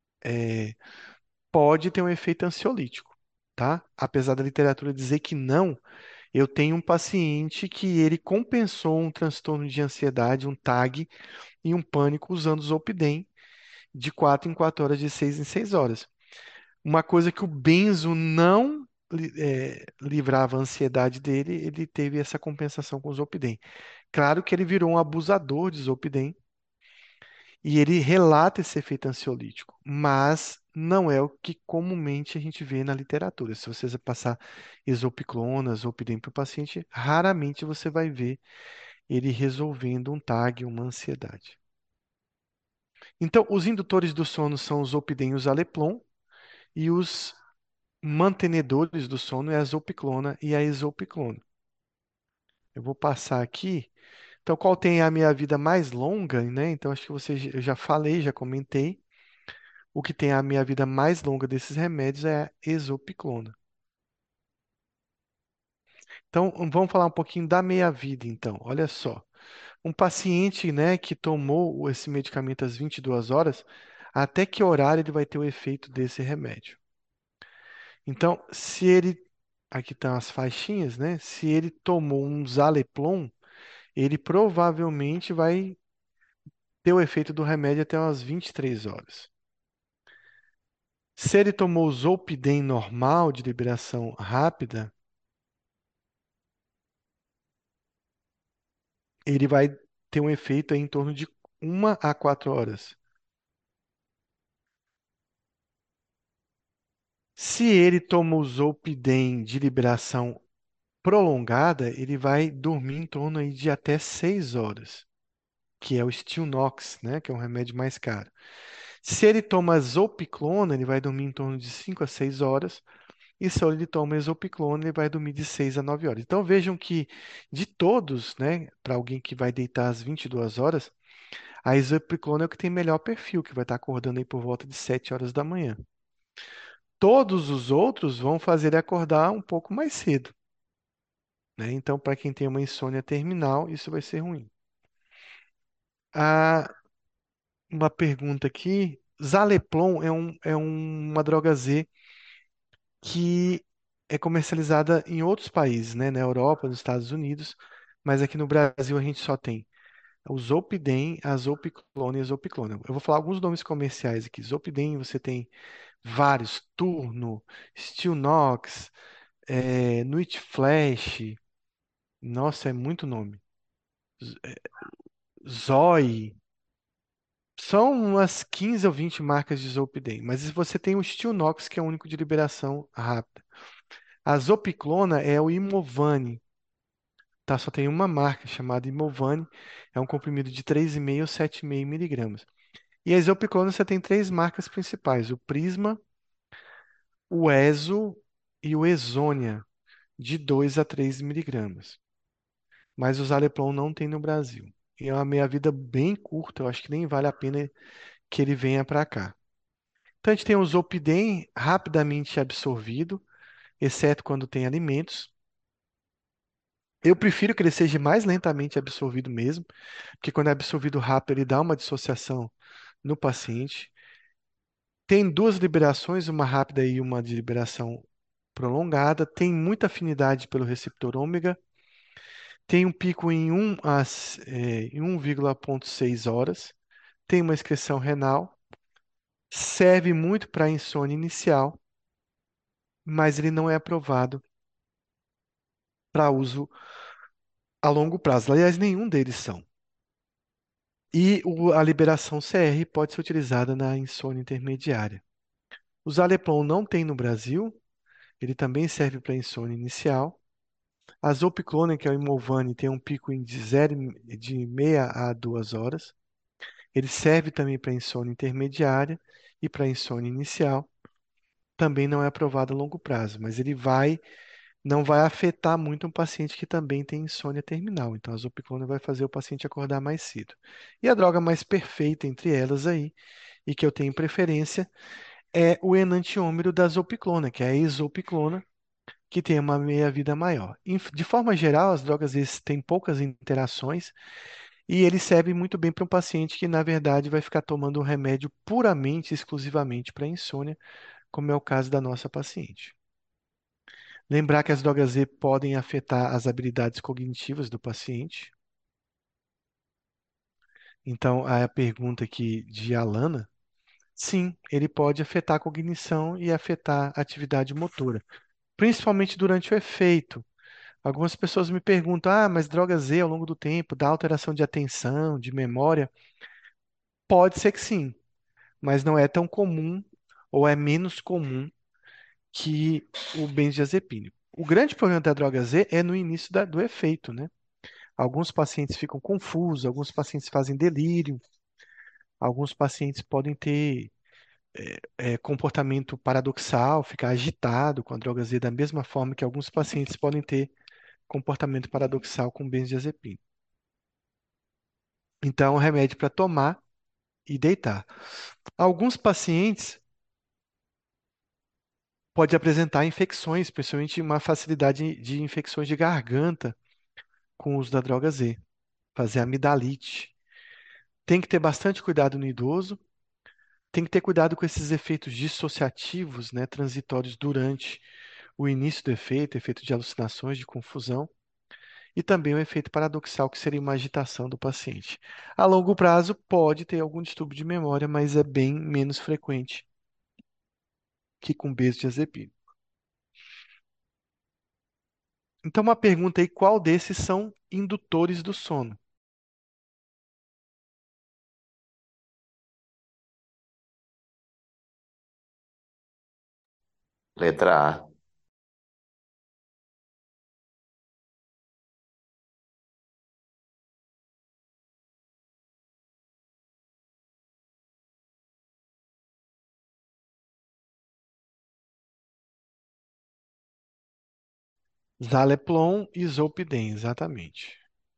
pode ter um efeito ansiolítico, tá? Apesar da literatura dizer que não. Eu tenho um paciente que ele compensou um transtorno de ansiedade, um T A G e um pânico usando Zolpidem de quatro em quatro horas, de seis em seis horas. Uma coisa que o benzo não li- eh, livrava a ansiedade dele, ele teve essa compensação com o Zolpidem. Claro que ele virou um abusador de Zolpidem e ele relata esse efeito ansiolítico, mas não é o que comumente a gente vê na literatura. Se você passar isopiclona, Zolpidem para o paciente, raramente você vai ver ele resolvendo um T A G, uma ansiedade. Então, os indutores do sono são os Zolpidem e o Zaleplon, e os mantenedores do sono é a Zolpiclona e a Exopiclona. Eu vou passar aqui. Então, qual tem a minha vida mais longa, né? Então, acho que você, eu já falei, já comentei. O que tem a minha vida mais longa desses remédios é a Exopiclona. Então, vamos falar um pouquinho da meia-vida, então. Olha só. Um paciente, né, que tomou esse medicamento às vinte e duas horas, até que horário ele vai ter o efeito desse remédio? Então, se ele, aqui estão as faixinhas, né? Se ele tomou um Zaleplon, ele provavelmente vai ter o efeito do remédio até umas vinte e três horas. Se ele tomou Zolpidem normal, de liberação rápida, ele vai ter um efeito aí em torno de uma a quatro horas. Se ele tomou Zolpidem de liberação prolongada, ele vai dormir em torno aí de até seis horas, que é o Stilnox, né, que é um remédio mais caro. Se ele toma Zolpiclona, ele vai dormir em torno de cinco a seis horas. E se ele toma Exopiclona, ele vai dormir de seis a nove horas. Então vejam que de todos, né, para alguém que vai deitar às vinte e duas horas, a Exopiclona é o que tem melhor perfil, que vai estar acordando aí por volta de sete horas da manhã. Todos os outros vão fazer ele acordar um pouco mais cedo, né? Então, para quem tem uma insônia terminal, isso vai ser ruim. Ah, uma pergunta aqui. Zaleplon é, um, é um- uma droga Z que é comercializada em outros países, né? Na Europa, nos Estados Unidos, mas aqui no Brasil a gente só tem o Zolpidem, a Zolpiclona e a Zolpiclona. Eu vou falar alguns nomes comerciais aqui. Zolpidem, você tem vários, Turno, Stilnox, é, Nuit Flash, nossa, é muito nome. Z- é, Zoe. São umas quinze ou vinte marcas de Zolpidem, mas você tem o Stilnox, que é o único de liberação rápida. A Zopiclona é o Imovane, tá? Só tem uma marca chamada Imovane, é um comprimido de três vírgula cinco ou sete vírgula cinco miligramas. E a Zopiclona você tem três marcas principais, o Prisma, o Ezo e o Exônia, de dois a três miligramas. Mas o Zaleplon não tem no Brasil. E é uma meia-vida bem curta, eu acho que nem vale a pena que ele venha para cá. Então a gente tem o Zolpidem rapidamente absorvido, exceto quando tem alimentos. Eu prefiro que ele seja mais lentamente absorvido mesmo, porque quando é absorvido rápido, ele dá uma dissociação no paciente. Tem duas liberações, uma rápida e uma de liberação prolongada. Tem muita afinidade pelo receptor ômega. Tem um pico em um às, eh, em um vírgula seis horas. Tem uma excreção renal. Serve muito para insônia inicial, mas ele não é aprovado para uso a longo prazo. Aliás, nenhum deles são. E o- a liberação C R pode ser utilizada na insônia intermediária. O Zaleplon não tem no Brasil, ele também serve para insônia inicial. A Zopiclona, que é o Imovane, tem um pico em de, zero, de meia a duas horas. Ele serve também para insônia intermediária e para insônia inicial. Também não é aprovado a longo prazo, mas ele vai, não vai afetar muito um paciente que também tem insônia terminal. Então, a Zopiclona vai fazer o paciente acordar mais cedo. E a droga mais perfeita entre elas aí, e que eu tenho preferência, é o enantiômero da Zopiclona, que é a Exopiclona, que tem uma meia-vida maior. Inf- De forma geral, as drogas esses têm poucas interações e eles servem muito bem para um paciente que, na verdade, vai ficar tomando um remédio puramente, exclusivamente para insônia, como é o caso da nossa paciente. Lembrar que as drogas Z podem afetar as habilidades cognitivas do paciente. Então, a pergunta aqui de Alana, sim, ele pode afetar a cognição e afetar a atividade motora, principalmente durante o efeito. Algumas pessoas me perguntam: ah, mas droga Z ao longo do tempo dá alteração de atenção, de memória? Pode ser que sim, mas não é tão comum ou é menos comum que o benzodiazepínico. O grande problema da droga Z é no início da- do efeito, né? Alguns pacientes ficam confusos, alguns pacientes fazem delírio, alguns pacientes podem ter é, comportamento paradoxal, ficar agitado com a droga Z, da mesma forma que alguns pacientes podem ter comportamento paradoxal com benzodiazepina. Então, é um remédio para tomar e deitar. Alguns pacientes podem apresentar infecções, principalmente uma facilidade de infecções de garganta com o uso da droga Z, fazer amidalite. Tem que ter bastante cuidado no idoso, tem que ter cuidado com esses efeitos dissociativos, né, transitórios durante o início do efeito, efeito de alucinações, de confusão, e também o efeito paradoxal, que seria uma agitação do paciente. A longo prazo, pode ter algum distúrbio de memória, mas é bem menos frequente que com benzodiazepina. Então, uma pergunta aí: qual desses são indutores do sono? Letra A. Zaleplon e Zolpidem, exatamente.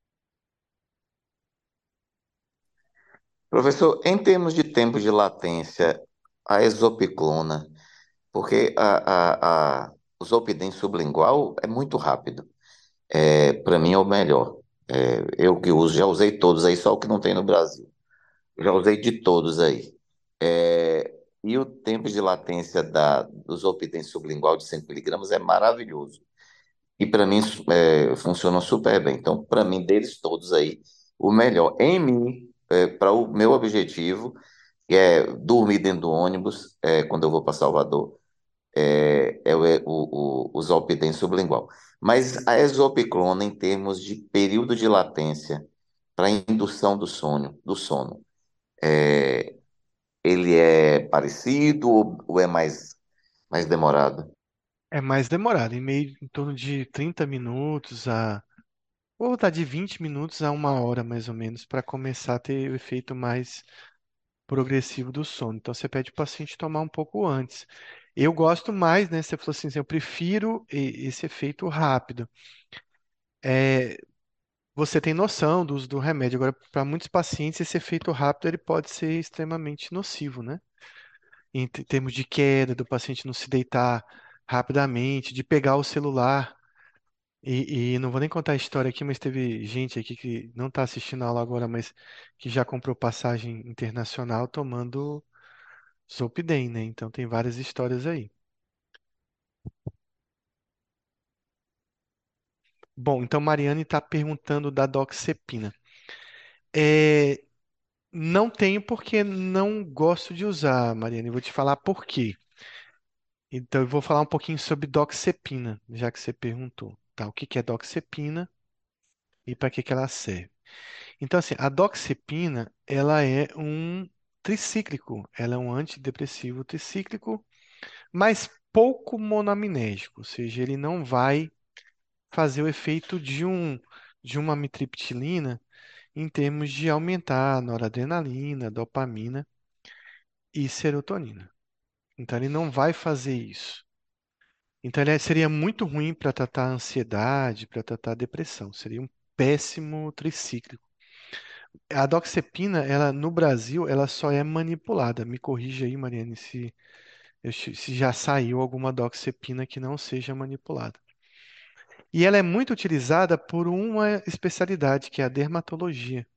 Professor, em termos de tempo de latência, a exopiclona, porque a, a, a, o Zolpidem sublingual é muito rápido. É, para mim é o melhor. É, eu que uso, já usei todos aí, só o que não tem no Brasil. Já usei de todos aí. É, e o tempo de latência da, do Zolpidem sublingual de cinco miligramas é maravilhoso. E para mim é, funcionam super bem. Então, para mim, deles todos aí, o melhor em mim, para o meu objetivo, que é dormir dentro do ônibus, é, quando eu vou para Salvador, é, é o, é o, o, o Zolpidem sublingual. Mas a exopiclona, em termos de período de latência para indução do sono, do sono, É, ele é parecido ou, ou é mais, mais demorado? É mais demorado, em meio em torno de trinta minutos a ou tá de vinte minutos a uma hora mais ou menos para começar a ter o efeito mais progressivo do sono. Então você pede para o paciente tomar um pouco antes. Eu gosto mais, né? Você falou assim, eu prefiro e- esse efeito rápido. É, você tem noção do uso do remédio. Agora, para muitos pacientes, esse efeito rápido ele pode ser extremamente nocivo, né? Em te- termos de queda, do paciente não se deitar rapidamente, de pegar o celular. E, e não vou nem contar a história aqui, mas teve gente aqui que não está assistindo a aula agora, mas que já comprou passagem internacional tomando Zolpidem, né? Então tem várias histórias aí. Bom, então Mariane está perguntando da doxepina. É, não tenho porque não gosto de usar, Mariane. Eu vou te falar por quê. Então eu vou falar um pouquinho sobre doxepina, já que você perguntou. Tá, o que que é doxepina e para que que ela serve? Então, assim, a doxepina, ela é um tricíclico. Ela é um antidepressivo tricíclico, mas pouco monoaminérgico, ou seja, ele não vai fazer o efeito de um de uma amitriptilina em termos de aumentar a noradrenalina, dopamina e serotonina. Então, ele não vai fazer isso. Então, ele é- seria muito ruim para tratar a ansiedade, para tratar a depressão. Seria um péssimo tricíclico. A doxepina, ela no Brasil, ela só é manipulada. Me corrija aí, Mariane, se, eu che- se já saiu alguma doxepina que não seja manipulada. E ela é muito utilizada por uma especialidade, que é a dermatologia.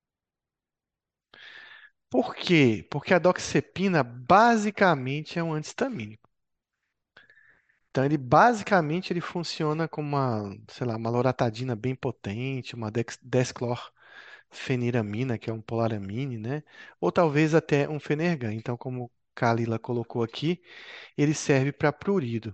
Por quê? Porque a doxepina basicamente é um anti-histamínico. Então, ele basicamente ele funciona como uma, sei lá, uma loratadina bem potente, uma dex- desclorfeniramina, que é um polaramine, né? Ou talvez até um Fenergan. Então, como Kalila colocou aqui, ele serve para prurido.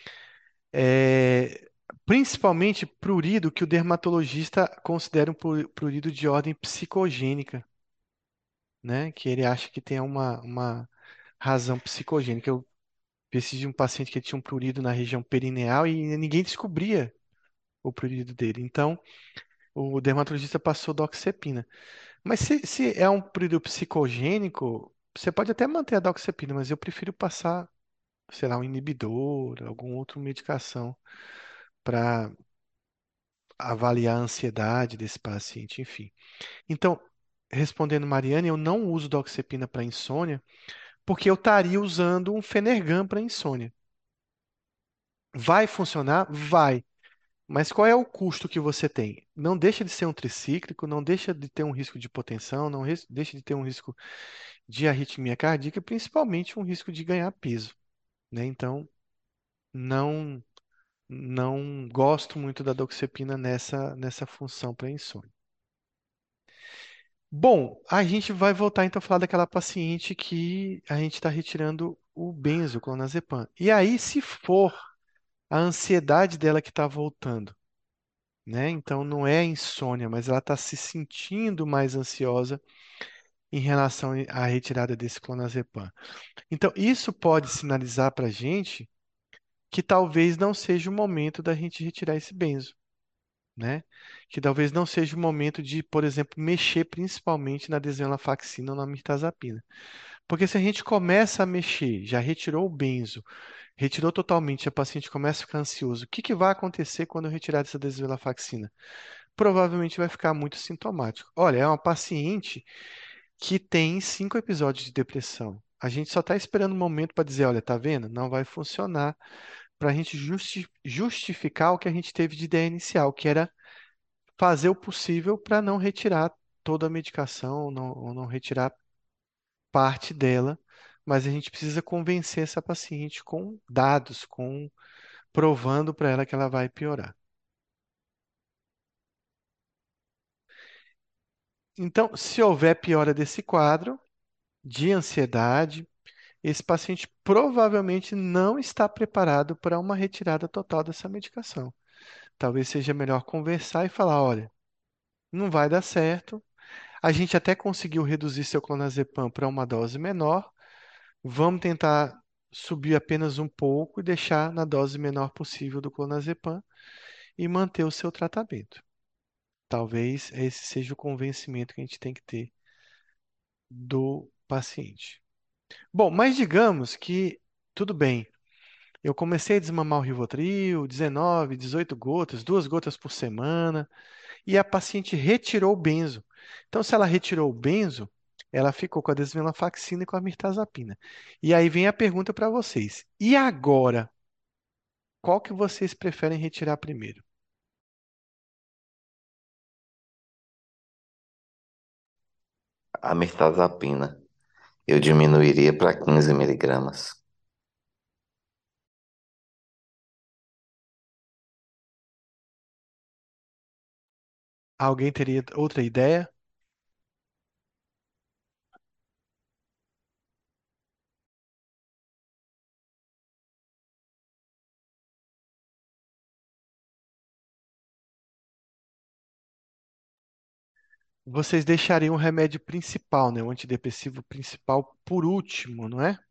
É, principalmente prurido que o dermatologista considera um pru- prurido de ordem psicogênica, né? Que ele acha que tem uma, uma razão psicogênica. Eu pesquisei de um paciente que tinha um prurido na região perineal e ninguém descobria o prurido dele. Então, o dermatologista passou doxepina. Mas se, se é um prurido psicogênico, você pode até manter a doxepina, mas eu prefiro passar, sei lá, um inibidor, alguma outra medicação para avaliar a ansiedade desse paciente, enfim. Então, respondendo Mariane, eu não uso doxepina para insônia, porque eu estaria usando um Fenergan para insônia. Vai funcionar? Vai. Mas qual é o custo que você tem? Não deixa de ser um tricíclico, não deixa de ter um risco de hipotensão, não res- deixa de ter um risco de arritmia cardíaca, e principalmente um risco de ganhar peso, né? Então, não não gosto muito da doxepina nessa nessa função para insônia. Bom, a gente vai voltar então a falar daquela paciente que a gente está retirando o benzoclonazepam. E aí, se for a ansiedade dela que está voltando, né? Então não é insônia, mas ela está se sentindo mais ansiosa em relação à retirada desse clonazepam. Então isso pode sinalizar para a gente que talvez não seja o momento da gente retirar esse benzo, né? Que talvez não seja o momento de, por exemplo, mexer principalmente na desvenlafaxina ou na mirtazapina. Porque se a gente começa a mexer, já retirou o benzo, retirou totalmente, a paciente começa a ficar ansioso, o que que vai acontecer quando eu retirar essa desvenlafaxina? Provavelmente vai ficar muito sintomático. Olha, é uma paciente que tem cinco episódios de depressão. A gente só está esperando o um momento para dizer, olha, tá vendo? Não vai funcionar para a gente justi- justificar o que a gente teve de ideia inicial, que era fazer o possível para não retirar toda a medicação, ou não, ou não retirar parte dela, mas a gente precisa convencer essa paciente com dados, com provando para ela que ela vai piorar. Então, se houver piora desse quadro de ansiedade, esse paciente provavelmente não está preparado para uma retirada total dessa medicação. Talvez seja melhor conversar e falar, olha, não vai dar certo. A gente até conseguiu reduzir seu clonazepam para uma dose menor. Vamos tentar subir apenas um pouco e deixar na dose menor possível do clonazepam e manter o seu tratamento. Talvez esse seja o convencimento que a gente tem que ter do paciente. Bom, mas digamos que tudo bem. Eu comecei a desmamar o Rivotril, dezenove, dezoito gotas, duas gotas por semana, e a paciente retirou o benzo. Então, se ela retirou o benzo, ela ficou com a desvenlafaxina e com a mirtazapina. E aí vem a pergunta para vocês. E agora, qual que vocês preferem retirar primeiro? A mirtazapina, eu diminuiria para quinze miligramas. Alguém teria outra ideia? Vocês deixariam o remédio principal, né, o antidepressivo principal por último, não é?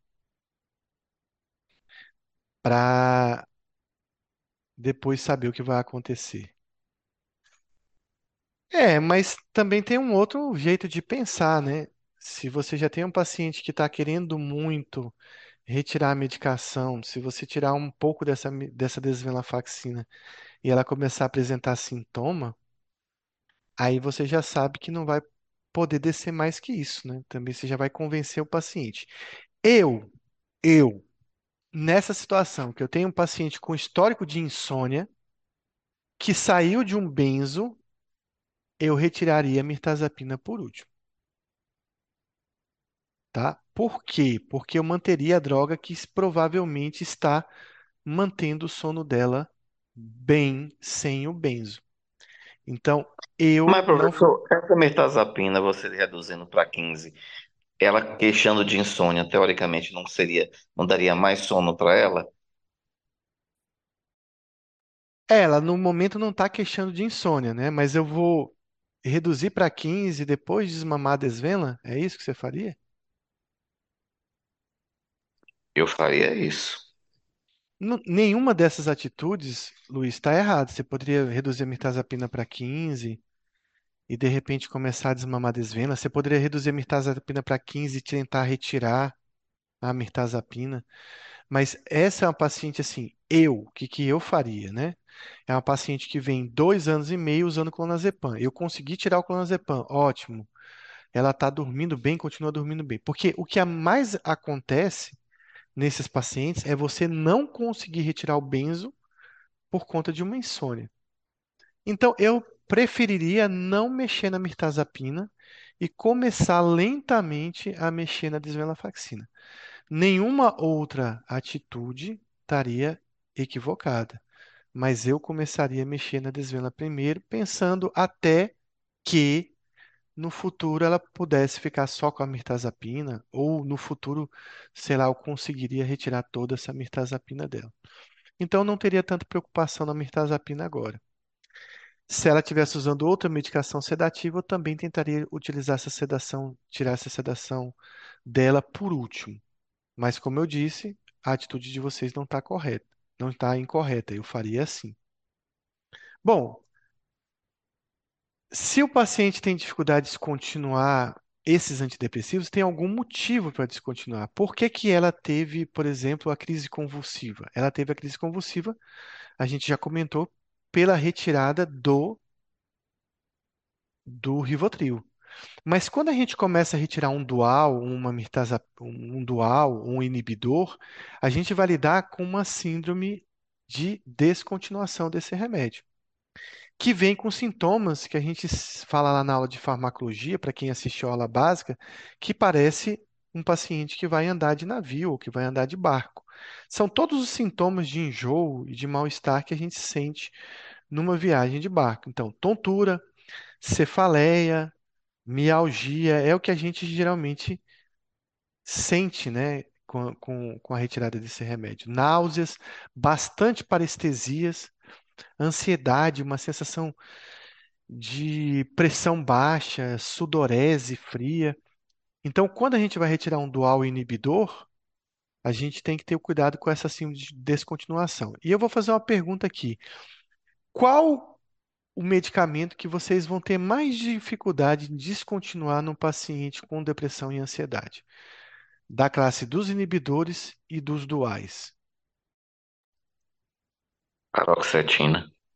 Para depois saber o que vai acontecer. É, mas também tem um outro jeito de pensar, né? Se você já tem um paciente que está querendo muito retirar a medicação, se você tirar um pouco dessa, me- dessa desvenlafaxina e ela começar a apresentar sintoma, aí você já sabe que não vai poder descer mais que isso, né? Também você já vai convencer o paciente. Eu, eu, nessa situação que eu tenho um paciente com histórico de insônia que saiu de um benzo, eu retiraria a mirtazapina por último. Tá? Por quê? Porque eu manteria a droga que provavelmente está mantendo o sono dela bem sem o benzo. Então, eu Mas, não. professor, essa mirtazapina, você reduzindo para quinze, ela queixando de insônia, teoricamente não seria, não daria mais sono para ela? Ela, no momento, não está queixando de insônia, né? Mas eu vou reduzir para quinze depois de desmamar a desvena? É isso que você faria? Eu faria isso. Nu- Nenhuma dessas atitudes, Luiz, está errada. Você poderia reduzir a mirtazapina para quinze e, de repente, começar a desmamar a desvena. Você poderia reduzir a mirtazapina para quinze e tentar retirar a mirtazapina. Mas essa é uma paciente assim, eu, o que que eu faria, né? É uma paciente que vem dois anos e meio usando clonazepam. Eu consegui tirar o clonazepam, ótimo. Ela está dormindo bem, continua dormindo bem. Porque o que a mais acontece nesses pacientes é você não conseguir retirar o benzo por conta de uma insônia. Então, eu preferiria não mexer na mirtazapina e começar lentamente a mexer na desvenlafaxina. Nenhuma outra atitude estaria equivocada, mas eu começaria a mexer na desvena primeiro, pensando até que no futuro ela pudesse ficar só com a mirtazapina, ou no futuro, sei lá, eu conseguiria retirar toda essa mirtazapina dela. Então não teria tanta preocupação na mirtazapina agora. Se ela estivesse usando outra medicação sedativa, eu também tentaria utilizar essa sedação, tirar essa sedação dela por último. Mas, como eu disse, a atitude de vocês não está correta, não está incorreta. Eu faria assim. Bom, se o paciente tem dificuldade de descontinuar esses antidepressivos, tem algum motivo para descontinuar. Por que que ela teve, por exemplo, a crise convulsiva? Ela teve a crise convulsiva, a gente já comentou, pela retirada do, do Rivotril. Mas quando a gente começa a retirar um dual, uma mirtaza, um um dual, um inibidor, a gente vai lidar com uma síndrome de descontinuação desse remédio, que vem com sintomas que a gente s- fala lá na aula de farmacologia, para quem assistiu a aula básica, que parece um paciente que vai andar de navio ou que vai andar de barco. São todos os sintomas de enjoo e de mal-estar que a gente sente numa viagem de barco. Então, tontura, cefaleia, mialgia é o que a gente geralmente sente, né, com, com, com a retirada desse remédio. Náuseas, bastante parestesias, ansiedade, uma sensação de pressão baixa, sudorese fria. Então, quando a gente vai retirar um dual inibidor, a gente tem que ter o cuidado com essa síndrome de descontinuação. E eu vou fazer uma pergunta aqui. Qual o medicamento que vocês vão ter mais dificuldade em descontinuar no paciente com depressão e ansiedade? Da classe dos inibidores e dos duais. Paroxetina.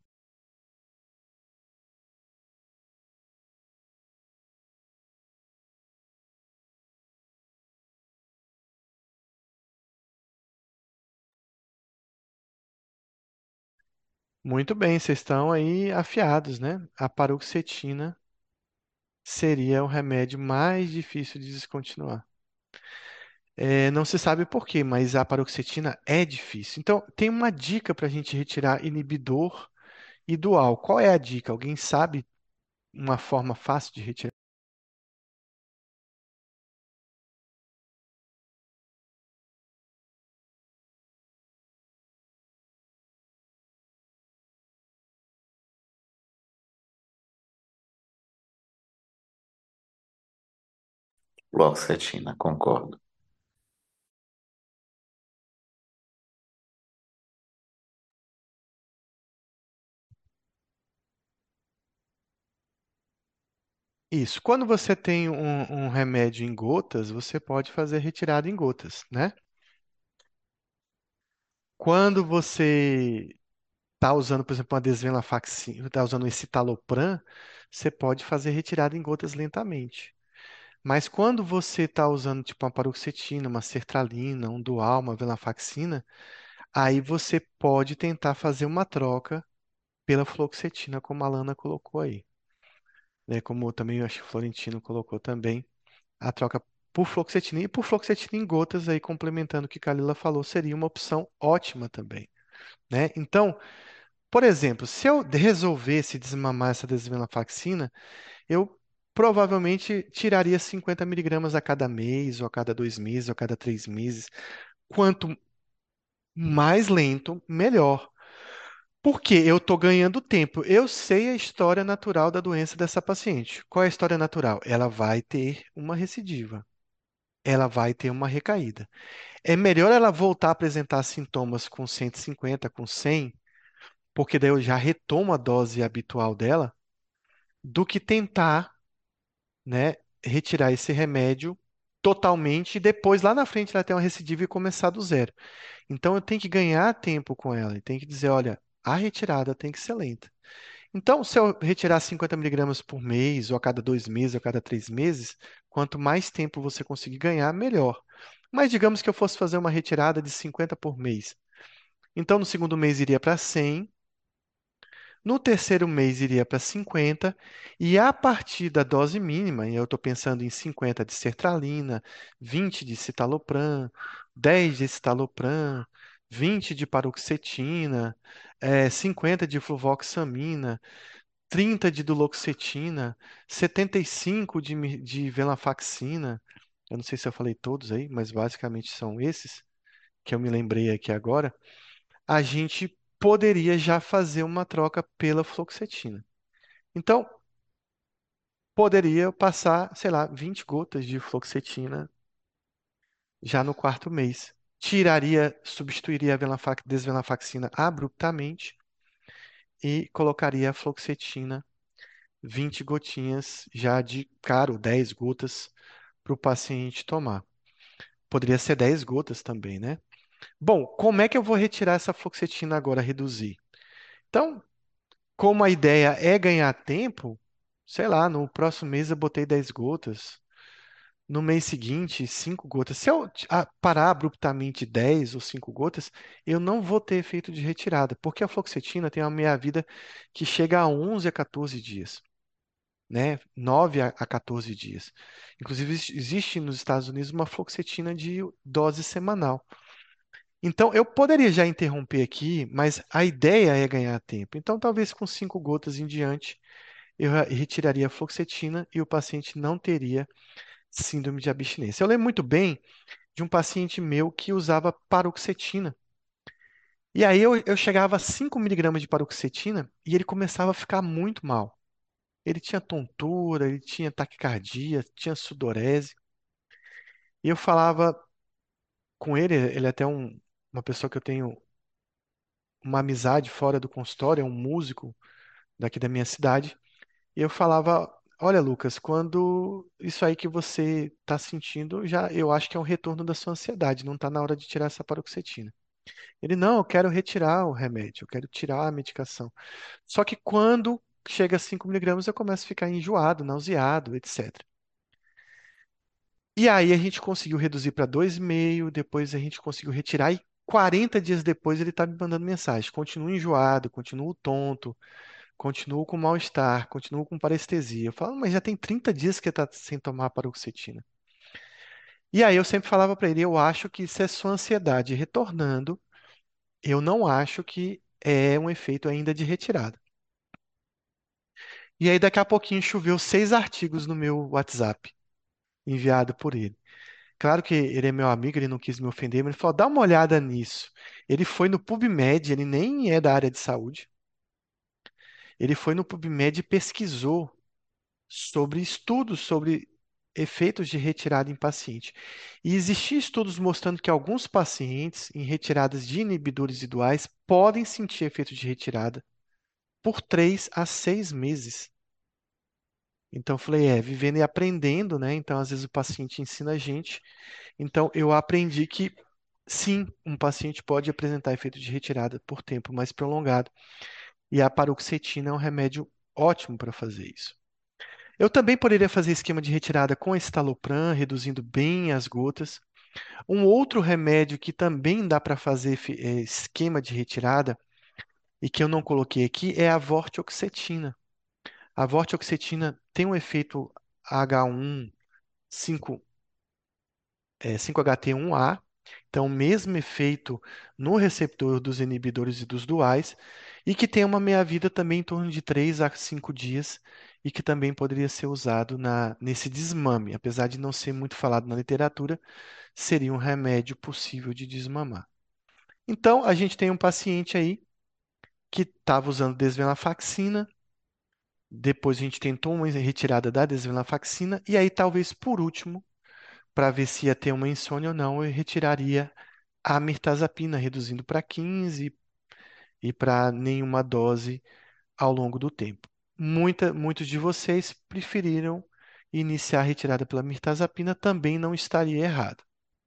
Muito bem, vocês estão aí afiados, né? A paroxetina seria o remédio mais difícil de descontinuar. É, não se sabe por quê, mas a paroxetina é difícil. Então, tem uma dica para a gente retirar inibidor e dual. Qual é a dica? Alguém sabe uma forma fácil de retirar? Fluoxetina, concordo. Isso. Quando você tem um, um remédio em gotas, você pode fazer retirada em gotas, né? Quando você está usando, por exemplo, uma desvenlafaxina, está usando um escitalopram, você pode fazer retirada em gotas lentamente. Mas quando você está usando tipo uma paroxetina, uma sertralina, um dual, uma venlafaxina, aí você pode tentar fazer uma troca pela fluoxetina, como a Lana colocou aí, né? Como também eu acho que o Florentino colocou também, a troca por fluoxetina e por fluoxetina em gotas aí complementando o que a Kalila falou, seria uma opção ótima também, né? Então, por exemplo, se eu resolvesse desmamar essa desvenlafaxina, eu provavelmente tiraria cinquenta miligramas a cada mês, ou a cada dois meses, ou a cada três meses. Quanto mais lento, melhor. Porque eu estou ganhando tempo. Eu sei a história natural da doença dessa paciente. Qual é a história natural? Ela vai ter uma recidiva. Ela vai ter uma recaída. É melhor ela voltar a apresentar sintomas com cento e cinquenta, com cem, porque daí eu já retomo a dose habitual dela, do que tentar, né, retirar esse remédio totalmente e depois lá na frente ela ter uma recidiva e começar do zero. Então eu tenho que ganhar tempo com ela e tenho que dizer, olha, a retirada tem que ser lenta. Então, se eu retirar cinquenta miligramas por mês, ou a cada dois meses, ou a cada três meses, quanto mais tempo você conseguir ganhar, melhor. Mas digamos que eu fosse fazer uma retirada de cinquenta por mês. Então, no segundo mês iria para cem. No terceiro mês iria para cinquenta, e a partir da dose mínima, e eu estou pensando em cinquenta de sertralina, vinte de citalopram, dez de citalopram, vinte de paroxetina, eh, cinquenta de fluvoxamina, trinta de duloxetina, setenta e cinco de, mi- de venlafaxina. Eu não sei se eu falei todos aí, mas basicamente são esses que eu me lembrei aqui agora. A gente poderia já fazer uma troca pela fluoxetina. Então, poderia passar, sei lá, vinte gotas de fluoxetina já no quarto mês. Tiraria, substituiria a venlafax- desvenlafaxina abruptamente e colocaria a fluoxetina, vinte gotinhas já de caro, dez gotas para o paciente tomar. Poderia ser dez gotas também, né? Bom, como é que eu vou retirar essa fluoxetina agora, reduzir? Então, como a ideia é ganhar tempo, sei lá, no próximo mês eu botei dez gotas, no mês seguinte, cinco gotas. Se eu ah, parar abruptamente dez ou cinco gotas, eu não vou ter efeito de retirada, porque a fluoxetina tem uma meia-vida que chega a onze a quatorze dias, né? nove a a quatorze dias. Inclusive, ex- existe nos Estados Unidos uma fluoxetina de dose semanal. Então, eu poderia já interromper aqui, mas a ideia é ganhar tempo. Então, talvez com cinco gotas em diante, eu ra- retiraria a fluoxetina e o paciente não teria síndrome de abstinência. Eu lembro muito bem de um paciente meu que usava paroxetina. E aí eu, eu chegava a cinco miligramas de paroxetina e ele começava a ficar muito mal. Ele tinha tontura, ele tinha taquicardia, tinha sudorese. E eu falava com ele, ele é até um, uma pessoa que eu tenho uma amizade fora do consultório, é um músico daqui da minha cidade. E eu falava, olha, Lucas, quando isso aí que você está sentindo, já eu acho que é um retorno da sua ansiedade, não está na hora de tirar essa paroxetina. Ele, não, eu quero retirar o remédio, eu quero tirar a medicação. Só que quando chega a cinco miligramas, eu começo a ficar enjoado, nauseado, etcétera. E aí a gente conseguiu reduzir para dois e meio, depois a gente conseguiu retirar e quarenta dias depois ele está me mandando mensagem. Continuo enjoado, continuo tonto, continuo com mal-estar, continuo com parestesia. Eu falo, mas já tem trinta dias que está sem tomar paroxetina. E aí eu sempre falava para ele, eu acho que isso é sua ansiedade retornando, eu não acho que é um efeito ainda de retirada. E aí daqui a pouquinho choveu seis artigos no meu WhatsApp, enviado por ele. Claro que ele é meu amigo, ele não quis me ofender, mas ele falou: dá uma olhada nisso. Ele foi no PubMed, ele nem é da área de saúde. Ele foi no PubMed e pesquisou sobre estudos sobre efeitos de retirada em paciente. E existiam estudos mostrando que alguns pacientes em retiradas de inibidores duais podem sentir efeitos de retirada por três a seis meses. Então, eu falei, é, vivendo e aprendendo, né? Então, às vezes o paciente ensina a gente. Então, eu aprendi que sim, um paciente pode apresentar efeito de retirada por tempo mais prolongado. E a paroxetina é um remédio ótimo para fazer isso. Eu também poderia fazer esquema de retirada com estalopram, reduzindo bem as gotas. Um outro remédio que também dá para fazer efe- eh, esquema de retirada e que eu não coloquei aqui é a vortioxetina. A vortioxetina tem um efeito H um, cinco é, cinco H T um A, então, o mesmo efeito no receptor dos inibidores e dos duais, e que tem uma meia-vida também em torno de três a cinco dias, e que também poderia ser usado na, nesse desmame. Apesar de não ser muito falado na literatura, seria um remédio possível de desmamar. Então, a gente tem um paciente aí que estava usando desvenlafaxina, depois a gente tentou uma retirada da desvenlafaxina, e aí talvez por último, para ver se ia ter uma insônia ou não, eu retiraria a mirtazapina, reduzindo para quinze e para nenhuma dose ao longo do tempo. Muita, muitos de vocês preferiram iniciar a retirada pela mirtazapina, também não estaria errado.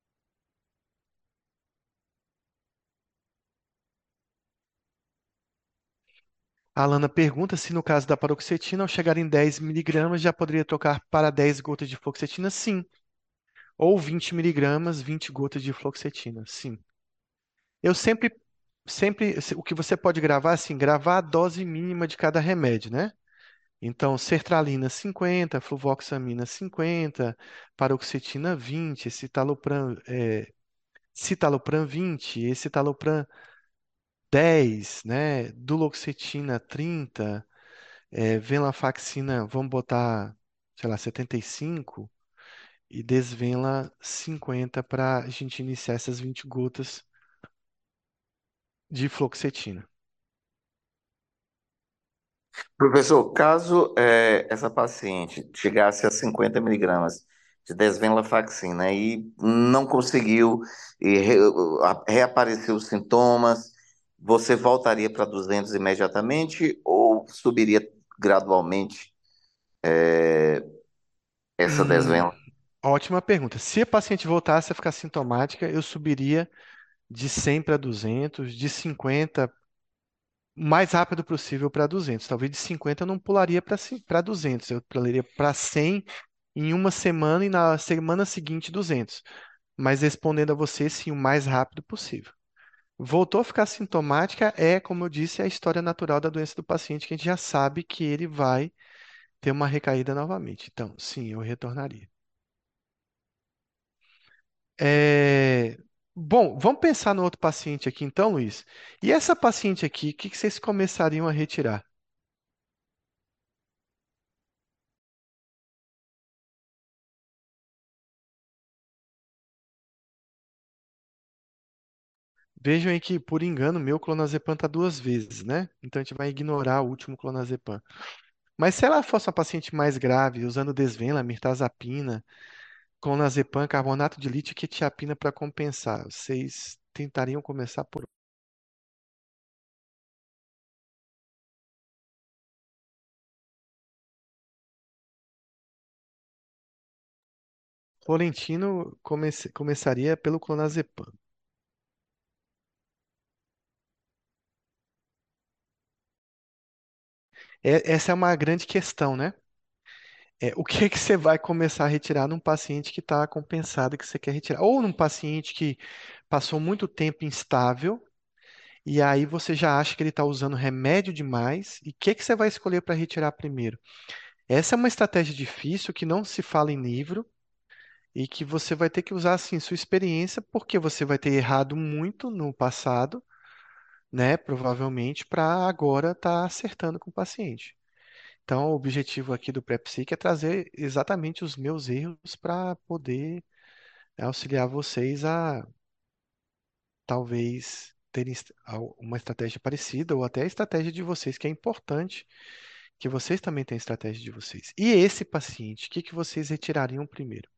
A Alana pergunta se no caso da paroxetina, ao chegar em dez miligramas, já poderia trocar para dez gotas de fluoxetina? Sim. Ou vinte miligramas, vinte gotas de fluoxetina? Sim. Eu sempre, sempre, o que você pode gravar, assim, gravar a dose mínima de cada remédio, né? Então, sertralina cinquenta, fluvoxamina cinquenta, paroxetina vinte, citalopram, é, citalopram vinte, escitalopram dez, né? Duloxetina trinta, é, venlafaxina, vamos botar, sei lá, setenta e cinco e desvenla cinquenta para a gente iniciar essas vinte gotas de fluoxetina. Professor, caso eh, essa paciente chegasse a cinquenta miligramas de desvenlafaxina e não conseguiu e re, a- reapareceu os sintomas, você voltaria para duzentos imediatamente ou subiria gradualmente essa Hum, desvenla? ótima pergunta. Se a paciente voltasse a ficar sintomática, eu subiria de cem para duzentos, de cinquenta o mais rápido possível para duzentos. Talvez de cinquenta eu não pularia para duzentos, eu pularia para cem em uma semana e na semana seguinte duzentos. Mas respondendo a você, sim, o mais rápido possível. Voltou a ficar sintomática, é, como eu disse, a história natural da doença do paciente, que a gente já sabe que ele vai ter uma recaída novamente. Então, sim, eu retornaria. É, Bom, vamos pensar no outro paciente aqui, então, Luiz. E essa paciente aqui, o que que vocês começariam a retirar? Vejam aí que, por engano, meu clonazepam está duas vezes, né? Então a gente vai ignorar o último clonazepam. Mas se ela fosse uma paciente mais grave, usando desvenla, mirtazapina, clonazepam, carbonato de lítio e quetiapina para compensar, vocês tentariam começar por Florentino comece- começaria pelo clonazepam. É- essa é uma grande questão, né? É, o que que você vai começar a retirar num paciente que está compensado que você quer retirar? Ou num paciente que passou muito tempo instável e aí você já acha que ele está usando remédio demais e o que que você vai escolher para retirar primeiro? Essa é uma estratégia difícil que não se fala em livro e que você vai ter que usar assim sua experiência porque você vai ter errado muito no passado, né? Provavelmente para agora estar acertando com o paciente. Então, o objetivo aqui do PrEPSIC é trazer exatamente os meus erros para poder auxiliar vocês a talvez terem est- al- uma estratégia parecida ou até a estratégia de vocês, que é importante que vocês também tenham a estratégia de vocês. E esse paciente, o que que vocês retirariam primeiro?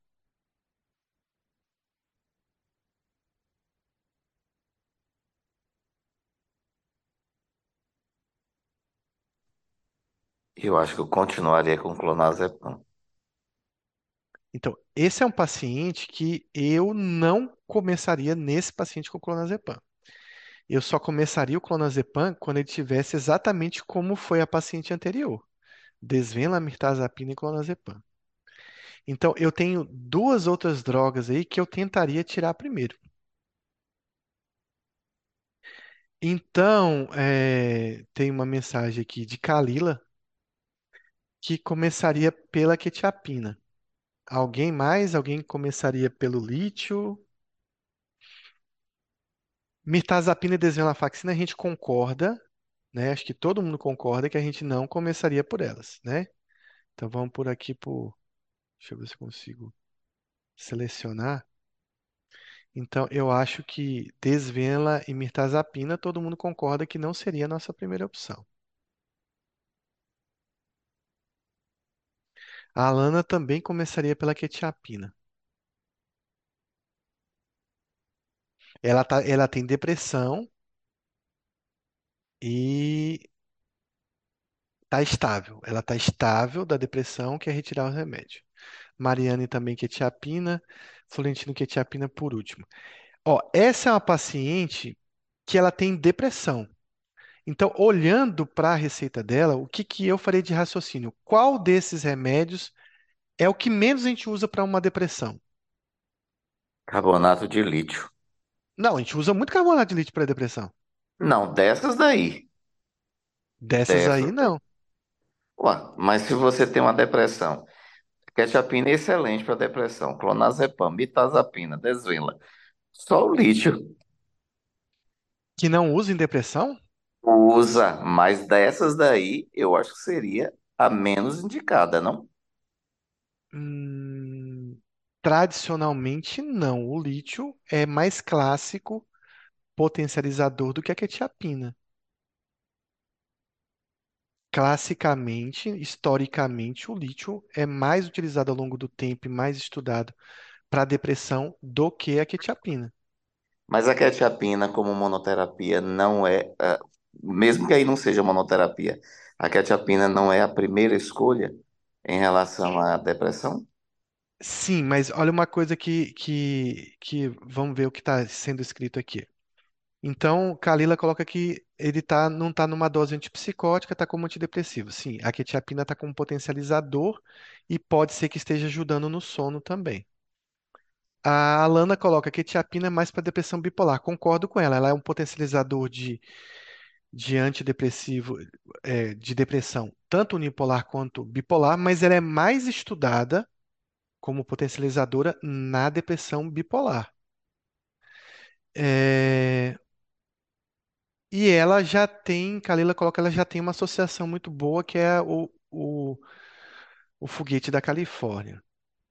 Eu acho que eu continuaria com clonazepam. Então, esse é um paciente que eu não começaria nesse paciente com clonazepam. Eu só começaria o clonazepam quando ele tivesse exatamente como foi a paciente anterior. Desvenla, mirtazapina e clonazepam. Então, eu tenho duas outras drogas aí que eu tentaria tirar primeiro. Então, é, tem uma mensagem aqui de Kalila que começaria pela quetiapina. Alguém mais? Alguém começaria pelo lítio? Mirtazapina e desvenlafaxina a gente concorda, né? Acho que todo mundo concorda que a gente não começaria por elas, né? Então vamos por aqui por, deixa eu ver se eu consigo selecionar. Então eu acho que desvenla e mirtazapina todo mundo concorda que não seria a nossa primeira opção. A Alana também começaria pela quetiapina. Ela tá, ela tem depressão e tá estável. Ela tá estável da depressão, quer retirar o remédio. Mariane também quetiapina, Florentino quetiapina por último. Ó, essa é uma paciente que ela tem depressão. Então, olhando para a receita dela, o que que eu farei de raciocínio? Qual desses remédios é o que menos a gente usa para uma depressão? Carbonato de lítio. Não, a gente usa muito carbonato de lítio para depressão. Não, dessas daí. Dessas aí, Dessas daí. não. Ué, mas se você tem uma depressão, quetiapina é excelente para depressão. Clonazepam, mirtazapina, desvenla. Só o lítio Que não usa em depressão? usa, mas dessas daí eu acho que seria a menos indicada, não? Hum, tradicionalmente, não. O lítio é mais clássico potencializador do que a quetiapina. Classicamente, historicamente, o lítio é mais utilizado ao longo do tempo e mais estudado para depressão do que a quetiapina. Mas a quetiapina como monoterapia não é, ah, mesmo que aí não seja monoterapia, a quetiapina não é a primeira escolha em relação à depressão? Sim, mas olha uma coisa que, que, que vamos ver o que está sendo escrito aqui. Então, Kalila coloca que ele tá, não está numa dose antipsicótica, está como antidepressivo. Sim, a quetiapina está como potencializador e pode ser que esteja ajudando no sono também. A Alana coloca que a quetiapina é mais para depressão bipolar. Concordo com ela. Ela é um potencializador de, de antidepressivo, é, de depressão, tanto unipolar quanto bipolar, mas ela é mais estudada como potencializadora na depressão bipolar. É, e ela já tem, Kalila coloca, ela já tem uma associação muito boa que é o, o, o foguete da Califórnia.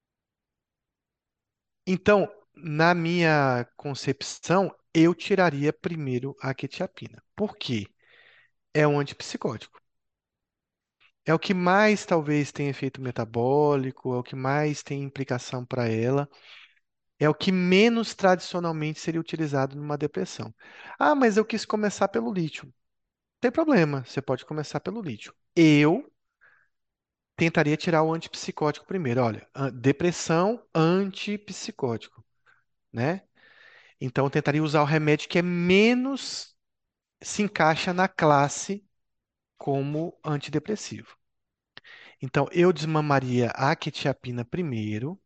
Então, na minha concepção, eu tiraria primeiro a quetiapina. Por quê? É um antipsicótico. É o que mais talvez tenha efeito metabólico, é o que mais tem implicação para ela, é o que menos tradicionalmente seria utilizado numa depressão. Ah, mas eu quis começar pelo lítio. Não tem problema, você pode começar pelo lítio. Eu tentaria tirar o antipsicótico primeiro. Olha, an- depressão antipsicótico, né? Então eu tentaria usar o remédio que é menos se encaixa na classe como antidepressivo. Então eu desmamaria a quetiapina primeiro.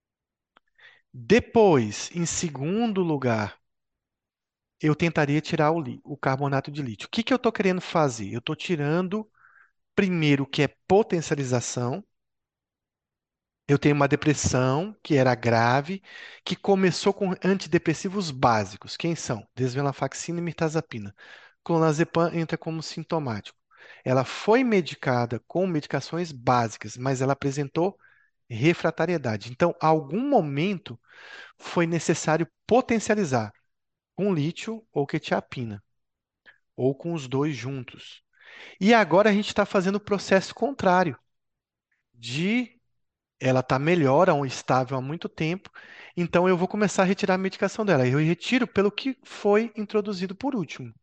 Depois, em segundo lugar, eu tentaria tirar o, li- o carbonato de lítio. O que que eu estou querendo fazer? Eu estou tirando primeiro o que é potencialização. Eu tenho uma depressão que era grave, que começou com antidepressivos básicos. Quem são? Desvenlafaxina e mirtazapina. Clonazepam entra como sintomático. Ela foi medicada com medicações básicas, mas ela apresentou refratariedade. Então, a algum momento foi necessário potencializar com lítio ou quetiapina, ou com os dois juntos. E agora a gente está fazendo o processo contrário, de ela está melhor, um estável há muito tempo, então eu vou começar a retirar a medicação dela. Eu retiro pelo que foi introduzido por último.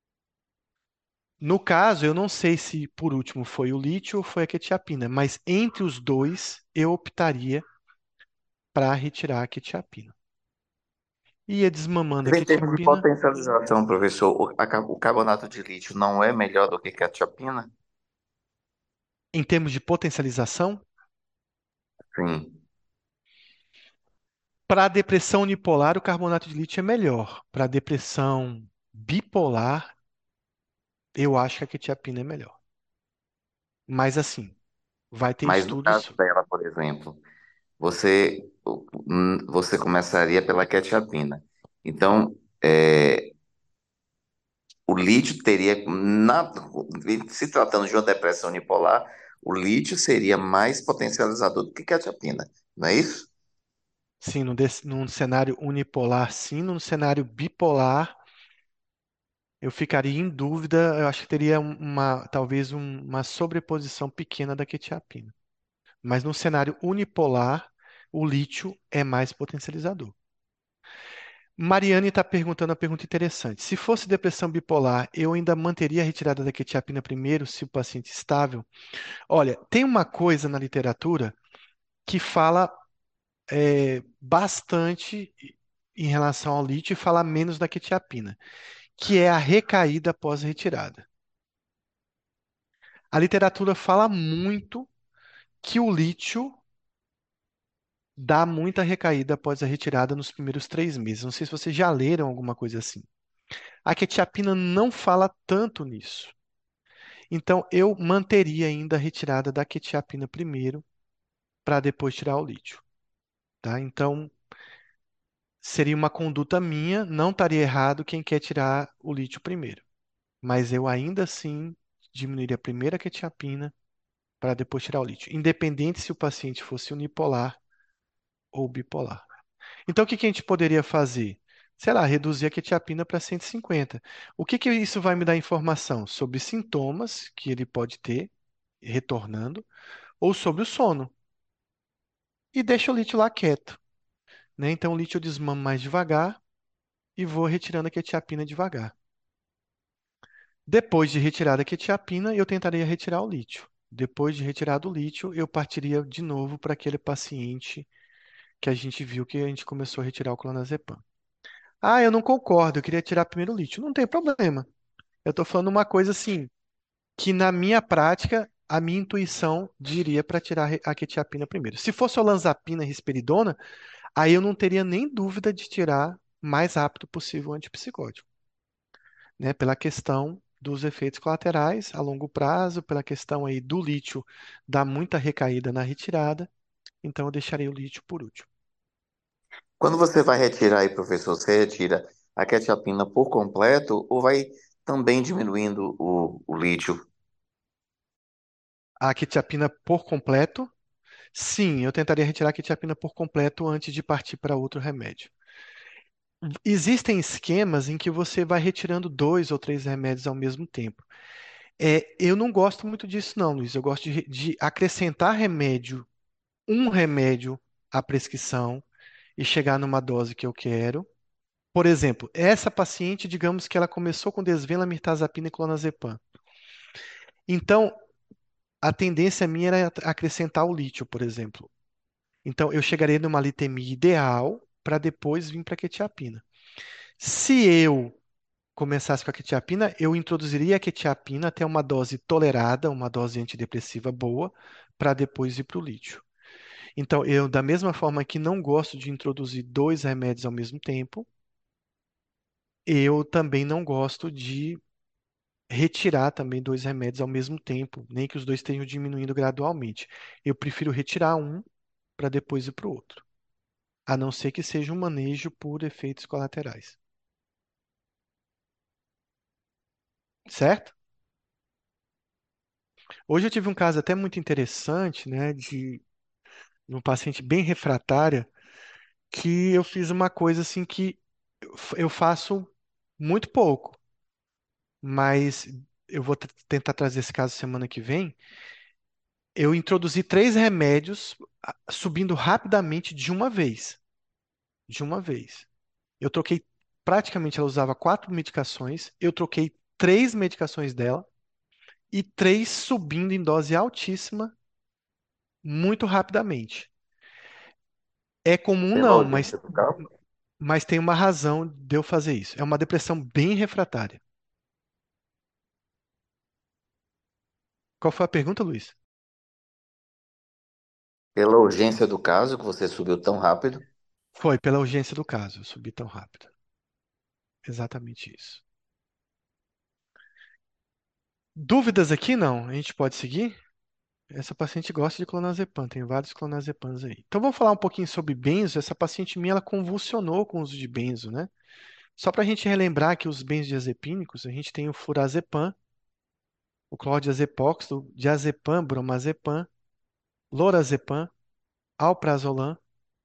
No caso, eu não sei se por último foi o lítio ou foi a quetiapina, mas entre os dois eu optaria para retirar a quetiapina. Ia desmamando a Mas em termos de quetiapina. potencialização, professor, o, a ca- o carbonato de lítio não é melhor do que quetiapina? Em termos de potencialização, Sim. para a depressão unipolar, o carbonato de lítio é melhor. Para a depressão bipolar, eu acho que a quetiapina é melhor. Mas assim, vai ter Mas no caso estudos. dela, por exemplo, você, hum, você começaria pela quetiapina. Então, é, o lítio teria, na- se tratando de uma depressão unipolar, o lítio seria mais potencializador do que quetiapina, não é isso? Sim, num, desse- num cenário unipolar, sim. Num cenário bipolar, eu ficaria em dúvida. Eu acho que teria um- uma, talvez um- uma sobreposição pequena da quetiapina. Mas no cenário unipolar, o lítio é mais potencializador. Mariane está perguntando uma pergunta interessante. Se fosse depressão bipolar, eu ainda manteria a retirada da quetiapina primeiro, se o paciente estável? Olha, tem uma coisa na literatura que fala é, bastante em relação ao lítio e fala menos da quetiapina, que é a recaída após a retirada. A literatura fala muito que o lítio dá muita recaída após a retirada nos primeiros três meses. Não sei se vocês já leram alguma coisa assim. A quetiapina não fala tanto nisso. Então, eu manteria ainda a retirada da quetiapina primeiro, para depois tirar o lítio, tá? Então, seria uma conduta minha, não estaria errado quem quer tirar o lítio primeiro. Mas eu ainda assim diminuiria primeiro a quetiapina para depois tirar o lítio, independente se o paciente fosse unipolar ou bipolar. Então, o que que a gente poderia fazer? Sei lá, reduzir a quetiapina para cento e cinquenta. O que que isso vai me dar informação? Sobre sintomas que ele pode ter retornando ou sobre o sono. E deixa o lítio lá quieto, né? Então, o lítio eu desmamo mais devagar e vou retirando a quetiapina devagar. Depois de retirada a quetiapina, eu tentaria retirar o lítio. Depois de retirado o lítio, eu partiria de novo para aquele paciente que a gente viu que a gente começou a retirar o clonazepam. Ah, eu não concordo, eu queria tirar primeiro o lítio. Não tem problema. Eu estou falando uma coisa assim, que na minha prática, a minha intuição diria para tirar a quetiapina primeiro. Se fosse olanzapina e risperidona, aí eu não teria nem dúvida de tirar o mais rápido possível o antipsicótico, né? Pela questão dos efeitos colaterais a longo prazo, pela questão aí do lítio dar muita recaída na retirada, então eu deixarei o lítio por último. Quando você vai retirar aí, professor, você retira a quetiapina por completo ou vai também diminuindo o, o lítio? A quetiapina por completo, sim, eu tentaria retirar a quetiapina por completo antes de partir para outro remédio. Existem esquemas em que você vai retirando dois ou três remédios ao mesmo tempo. É, eu não gosto muito disso, não, Luiz. Eu gosto de, re- de acrescentar remédio, um remédio à prescrição e chegar numa dose que eu quero. Por exemplo, essa paciente, digamos que ela começou com desvela, mirtazapina e clonazepam. Então, a tendência minha era acrescentar o lítio, por exemplo. Então, eu chegaria numa litemia ideal para depois vir para a quetiapina. Se eu começasse com a quetiapina, eu introduziria a quetiapina até uma dose tolerada, uma dose antidepressiva boa, para depois ir para o lítio. Então, eu, da mesma forma que não gosto de introduzir dois remédios ao mesmo tempo, eu também não gosto de retirar também dois remédios ao mesmo tempo, nem que os dois estejam diminuindo gradualmente. Eu prefiro retirar um para depois ir para o outro, a não ser que seja um manejo por efeitos colaterais. Certo? Hoje eu tive um caso até muito interessante, né, de um paciente bem refratária, que eu fiz uma coisa assim que eu f- eu faço muito pouco, mas eu vou t- tentar trazer esse caso semana que vem. Eu introduzi três remédios ah, subindo rapidamente de uma vez. De uma vez. Eu troquei, praticamente ela usava quatro medicações, eu troquei três medicações dela e três subindo em dose altíssima muito rapidamente. É comum Pela não, mas, urgência do caso? mas tem uma razão de eu fazer isso. É uma depressão bem refratária. Qual foi a pergunta, Luiz? Pela urgência do caso, que você subiu tão rápido? Foi pela urgência do caso, eu subi tão rápido. Exatamente isso. Dúvidas aqui não? A gente pode seguir? Essa paciente gosta de clonazepam, tem vários clonazepams aí. Então vamos falar um pouquinho sobre benzo. Essa paciente minha, ela convulsionou com o uso de benzo, né? Só para a gente relembrar que os benzodiazepínicos, a gente tem o furazepam, o clordiazepóxido, diazepam, bromazepam, lorazepam, alprazolam,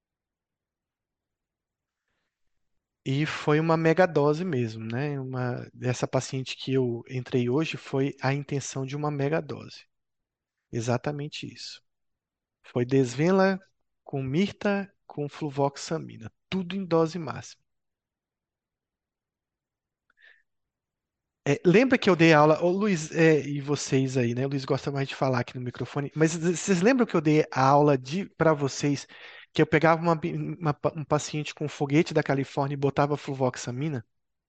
e foi uma megadose mesmo, né? Uma, essa paciente que eu entrei hoje foi a intenção de uma megadose. Exatamente isso. Foi desvenla com mirta com fluvoxamina, tudo em dose máxima. É, lembra que eu dei aula, ô Luiz, é, e vocês aí, né? O Luiz gosta mais de falar aqui no microfone, mas vocês lembram que eu dei a aula de para vocês que eu pegava uma, bi- uma pa- um paciente com foguete da Califórnia e botava fluvoxamina?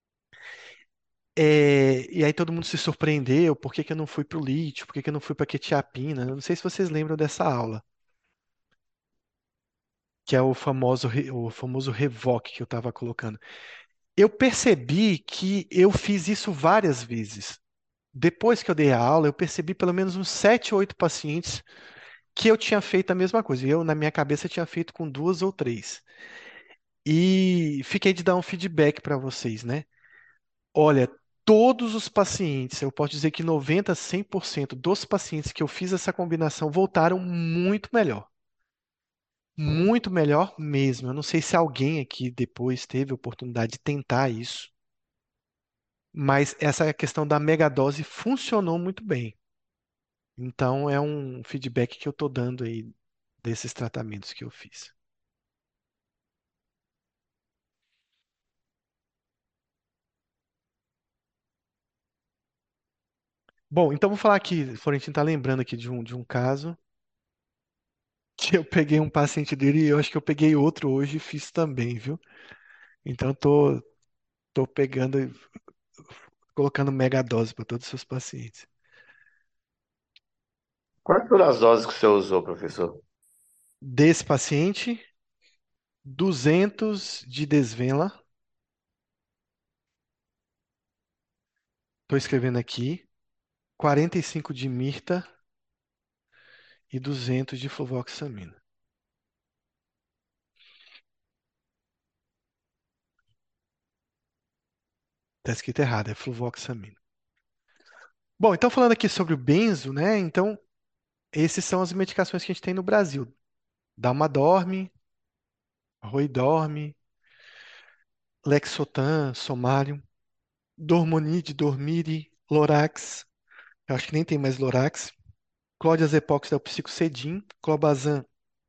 É, e aí todo mundo se surpreendeu, por que que eu não fui para o lítio, por que que eu não fui para quetiapina? Eu não sei se vocês lembram dessa aula, que é o famoso, re- o famoso revoque que eu estava colocando. Eu percebi que eu fiz isso várias vezes. Depois que eu dei a aula, eu percebi pelo menos uns sete, oito pacientes que eu tinha feito a mesma coisa. Eu, na minha cabeça, tinha feito com duas ou três. E fiquei de dar um feedback para vocês, né? Olha, todos os pacientes, eu posso dizer que noventa, cem por cento dos pacientes que eu fiz essa combinação voltaram muito melhor. Muito melhor mesmo. Eu não sei se alguém aqui depois teve a oportunidade de tentar isso, mas essa questão da megadose funcionou muito bem. Então, é um feedback que eu estou dando aí desses tratamentos que eu fiz. Bom, então vou falar aqui, Florentino está lembrando aqui de um, de um caso que eu peguei um paciente dele e eu acho que eu peguei outro hoje e fiz também, viu? Então, tô, tô pegando, e colocando mega dose para todos os seus pacientes. Quais foram as doses que o senhor usou, professor? Desse paciente, duzentos de desvenla, estou escrevendo aqui, quarenta e cinco de mirta e duzentos de fluvoxamina. Está escrito errado, é fluvoxamina. Bom, então falando aqui sobre o benzo, né? Então, esses são as medicações que a gente tem no Brasil. Dalmadorme, Roidorme, Lexotan, Somalium, Dormonide, Dormire, Lorax. Eu acho que nem tem mais Lorax. Clonazepam é o Psicocedin. Clobazam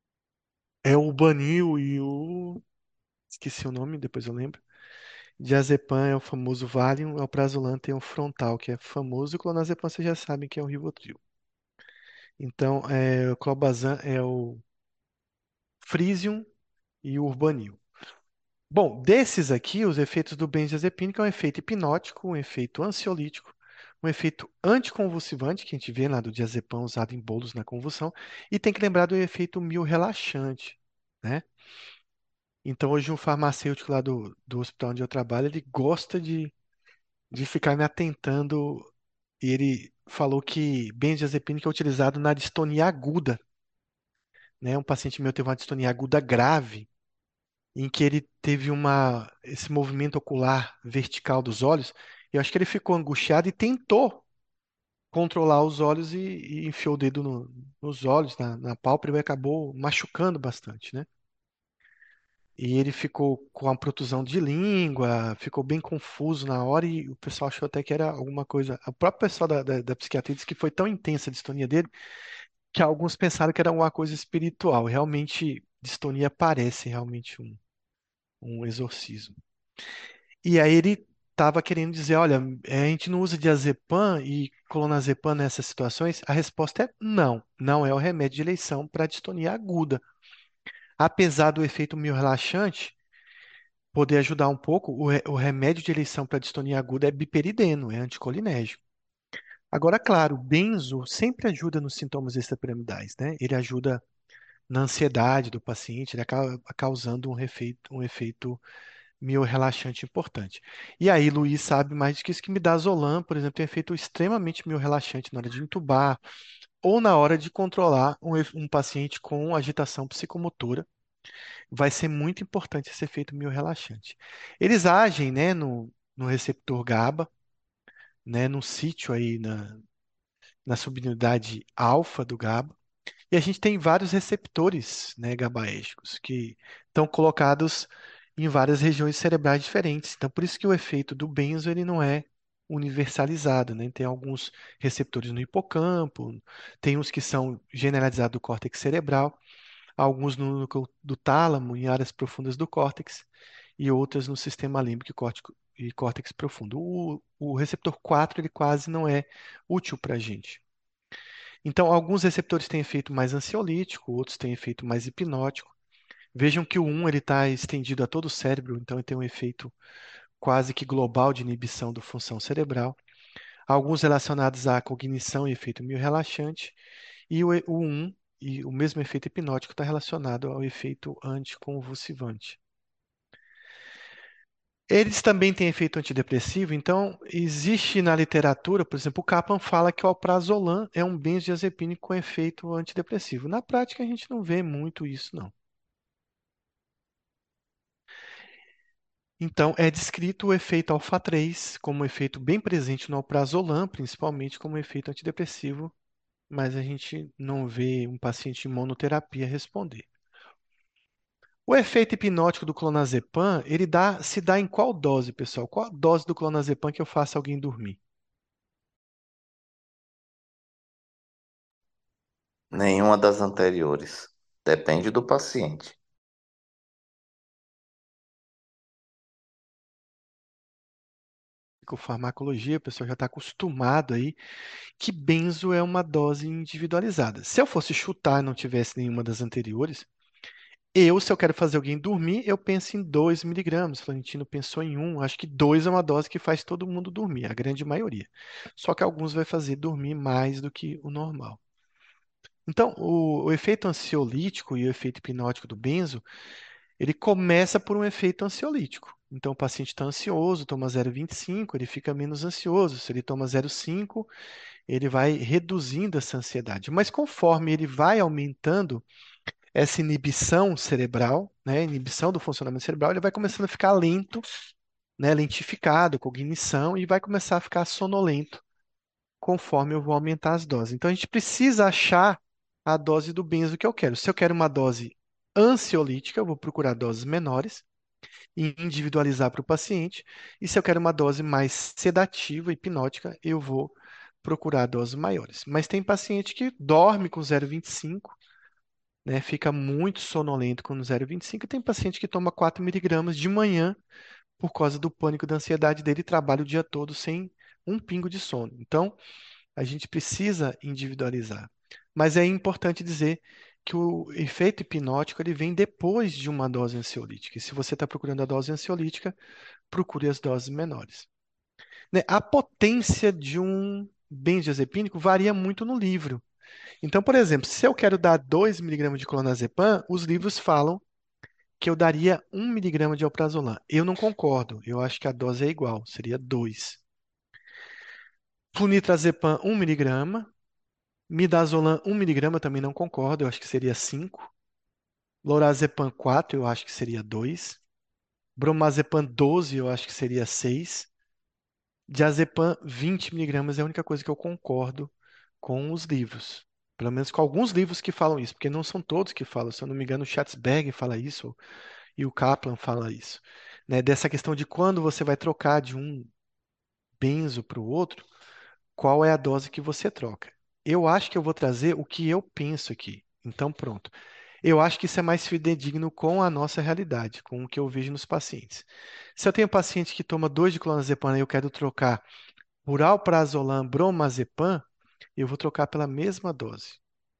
é o Banil e o... Esqueci o nome, depois eu lembro. Diazepam é o famoso Valium. É o Prazolam tem o Frontal, que é famoso. E o Clonazepam vocês já sabem que é o Rivotril. Então, é, o Clobazam é o Frisium e o Urbanil. Bom, desses aqui, os efeitos do benzodiazepínico é um efeito hipnótico, um efeito ansiolítico, um efeito anticonvulsivante, que a gente vê lá do diazepam usado em bolos na convulsão, e tem que lembrar do efeito miorrelaxante, né? Então, hoje, um farmacêutico lá do, do hospital onde eu trabalho, ele gosta de, de ficar me atentando, e ele falou que benzodiazepínico é utilizado na distonia aguda, né? Um paciente meu teve uma distonia aguda grave, em que ele teve uma, esse movimento ocular vertical dos olhos. Eu acho que ele ficou angustiado e tentou controlar os olhos e, e enfiou o dedo no- nos olhos, na, na pálpebra, e acabou machucando bastante, né? E ele ficou com a protusão de língua, ficou bem confuso na hora e o pessoal achou até que era alguma coisa. O próprio pessoal da, da, da psiquiatria disse que foi tão intensa a distonia dele que alguns pensaram que era alguma coisa espiritual. Realmente, distonia parece realmente um, um exorcismo. E aí ele estava querendo dizer, olha, eh, a gente não usa diazepam e clonazepam nessas situações. A resposta é não, não é o remédio de eleição para distonia aguda. Apesar do efeito meio relaxante poder ajudar um pouco, o, re- o remédio de eleição para distonia aguda é biperideno, é anticolinérgico. Agora, claro, o benzo sempre ajuda nos sintomas extrapiramidais, né? Ele ajuda na ansiedade do paciente, ele acaba causando um efeito, um efeito miorrelaxante importante. E aí, Luiz sabe mais do que isso, que midazolam, por exemplo, tem efeito extremamente miorrelaxante na hora de intubar ou na hora de controlar um, efe- um paciente com agitação psicomotora. Vai ser muito importante esse efeito miorrelaxante. Eles agem, né, no, no receptor GABA, né, no sítio aí na, na subunidade alfa do GABA. E a gente tem vários receptores, né, GABAérgicos que estão colocados em várias regiões cerebrais diferentes. Então, por isso que o efeito do benzo ele não é universalizado, né? Tem alguns receptores no hipocampo, tem uns que são generalizados do córtex cerebral, alguns no núcleo do tálamo, em áreas profundas do córtex, e outras no sistema límbico e córtico- e córtex profundo. O, o receptor quatro ele quase não é útil para a gente. Então, alguns receptores têm efeito mais ansiolítico, outros têm efeito mais hipnótico. Vejam que o um ele está estendido a todo o cérebro, então ele tem um efeito quase que global de inibição da função cerebral. Alguns relacionados à cognição e efeito meio relaxante, e o, E- o um e o mesmo efeito hipnótico está relacionado ao efeito anticonvulsivante. Eles também têm efeito antidepressivo, então existe na literatura, por exemplo, o Kaplan fala que o alprazolam é um benzodiazepínico com efeito antidepressivo. Na prática, a gente não vê muito isso, não. Então, é descrito o efeito alfa três como um efeito bem presente no alprazolam, principalmente como um efeito antidepressivo, mas a gente não vê um paciente em monoterapia responder. O efeito hipnótico do clonazepam, ele dá, se dá em qual dose, pessoal? Qual a dose do clonazepam que eu faço alguém dormir? Nenhuma das anteriores. Depende do paciente. Com farmacologia, o pessoal já está acostumado aí que benzo é uma dose individualizada. Se eu fosse chutar e não tivesse nenhuma das anteriores, eu, se eu quero fazer alguém dormir, eu penso em dois miligramas. Florentino pensou em um. Acho que dois é uma dose que faz todo mundo dormir, a grande maioria. Só que alguns vai fazer dormir mais do que o normal. Então, o, o efeito ansiolítico e o efeito hipnótico do benzo, ele começa por um efeito ansiolítico. Então, o paciente está ansioso, toma zero vírgula vinte e cinco, ele fica menos ansioso. Se ele toma zero vírgula cinco, ele vai reduzindo essa ansiedade. Mas conforme ele vai aumentando essa inibição cerebral, né, inibição do funcionamento cerebral, ele vai começando a ficar lento, né, lentificado, cognição, e vai começar a ficar sonolento conforme eu vou aumentar as doses. Então a gente precisa achar a dose do benzo que eu quero. Se eu quero uma dose ansiolítica, eu vou procurar doses menores e individualizar para o paciente. E se eu quero uma dose mais sedativa, hipnótica, eu vou procurar doses maiores. Mas tem paciente que dorme com zero vírgula vinte e cinco, né? Fica muito sonolento com zero vírgula vinte e cinco, e tem paciente que toma quatro miligramas de manhã por causa do pânico, da ansiedade dele, e trabalha o dia todo sem um pingo de sono. Então, a gente precisa individualizar. Mas é importante dizer que o efeito hipnótico ele vem depois de uma dose ansiolítica. E se você está procurando a dose ansiolítica, procure as doses menores. Né? A potência de um benzodiazepínico varia muito no livro. Então, por exemplo, se eu quero dar dois miligramas de clonazepam, os livros falam que eu daria um miligrama de alprazolam. Eu não concordo. Eu acho que a dose é igual, seria dois. Flunitrazepam, um miligrama. Midazolam, um miligrama, também não concordo. Eu acho que seria cinco. Lorazepam, quatro, eu acho que seria dois. Bromazepam, doze, eu acho que seria seis. Diazepam, vinte miligramas é a única coisa que eu concordo com os livros. Pelo menos com alguns livros que falam isso, porque não são todos que falam. Se eu não me engano, o Schatzberg fala isso e o Kaplan fala isso. Né? Dessa questão de quando você vai trocar de um benzo para o outro, qual é a dose que você troca. Eu acho que eu vou trazer o que eu penso aqui. Então, pronto. Eu acho que isso é mais fidedigno com a nossa realidade, com o que eu vejo nos pacientes. Se eu tenho um paciente que toma dois de clonazepam e eu quero trocar por alprazolam, bromazepam, eu vou trocar pela mesma dose.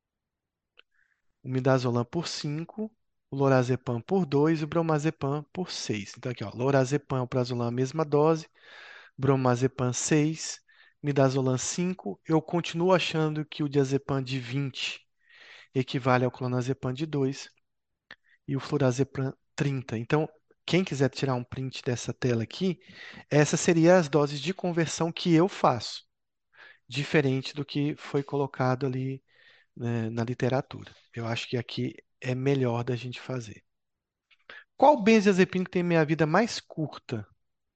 O midazolam por cinco, o lorazepam por dois e o bromazepam por seis. Então aqui, ó, lorazepam, alprazolam, a mesma dose, bromazepam seis, midazolam cinco. Eu continuo achando que o diazepam de vinte equivale ao clonazepam de dois e o flurazepam trinta. Então, quem quiser tirar um print dessa tela aqui, essas seriam as doses de conversão que eu faço, diferente do que foi colocado ali, né, na literatura. Eu acho que aqui é melhor da gente fazer. Qual benzodiazepina que tem minha vida mais curta?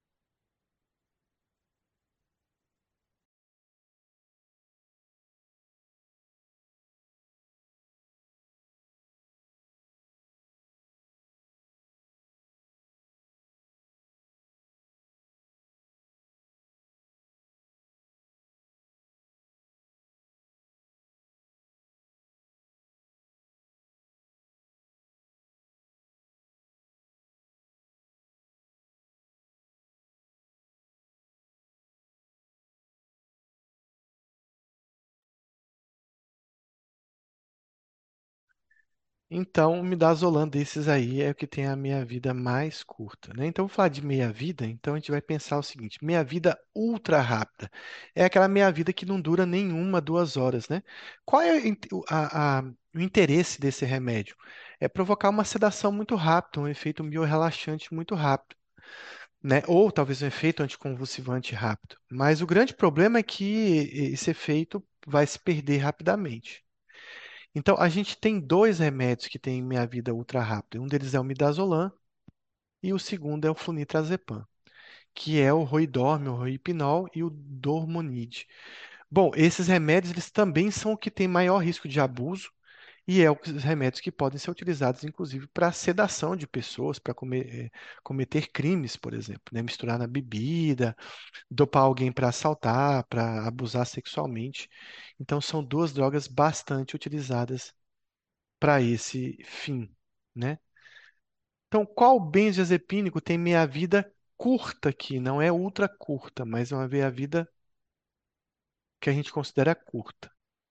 Então, o midazolam desses aí é o que tem a minha vida mais curta, né? Então, vou falar de meia-vida, então a gente vai pensar o seguinte: meia-vida ultra rápida. É aquela meia-vida que não dura nenhuma, duas horas, né? Qual é o in- o a- a- o interesse desse remédio? É provocar uma sedação muito rápida, um efeito miorrelaxante muito rápido, né? Ou talvez um efeito anticonvulsivante rápido. Mas o grande problema é que esse efeito vai se perder rapidamente. Então, a gente tem dois remédios que têm meia vida ultra rápida. Um deles é o midazolam e o segundo é o flunitrazepam, que é o Roidorm, o Roipinol e o Dormonide. Bom, esses remédios eles também são o que tem maior risco de abuso e é os remédios que podem ser utilizados, inclusive, para sedação de pessoas, para comer- eh, cometer crimes, por exemplo, né? Misturar na bebida, dopar alguém para assaltar, para abusar sexualmente. Então, são duas drogas bastante utilizadas para esse fim, né? Então, qual benzodiazepínico tem meia-vida curta aqui? Não é ultra curta, mas é uma meia-vida que a gente considera curta.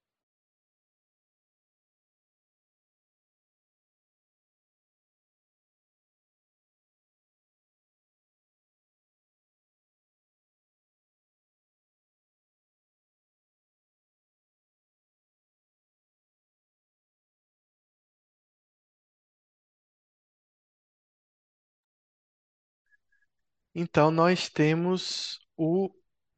Então, nós temos o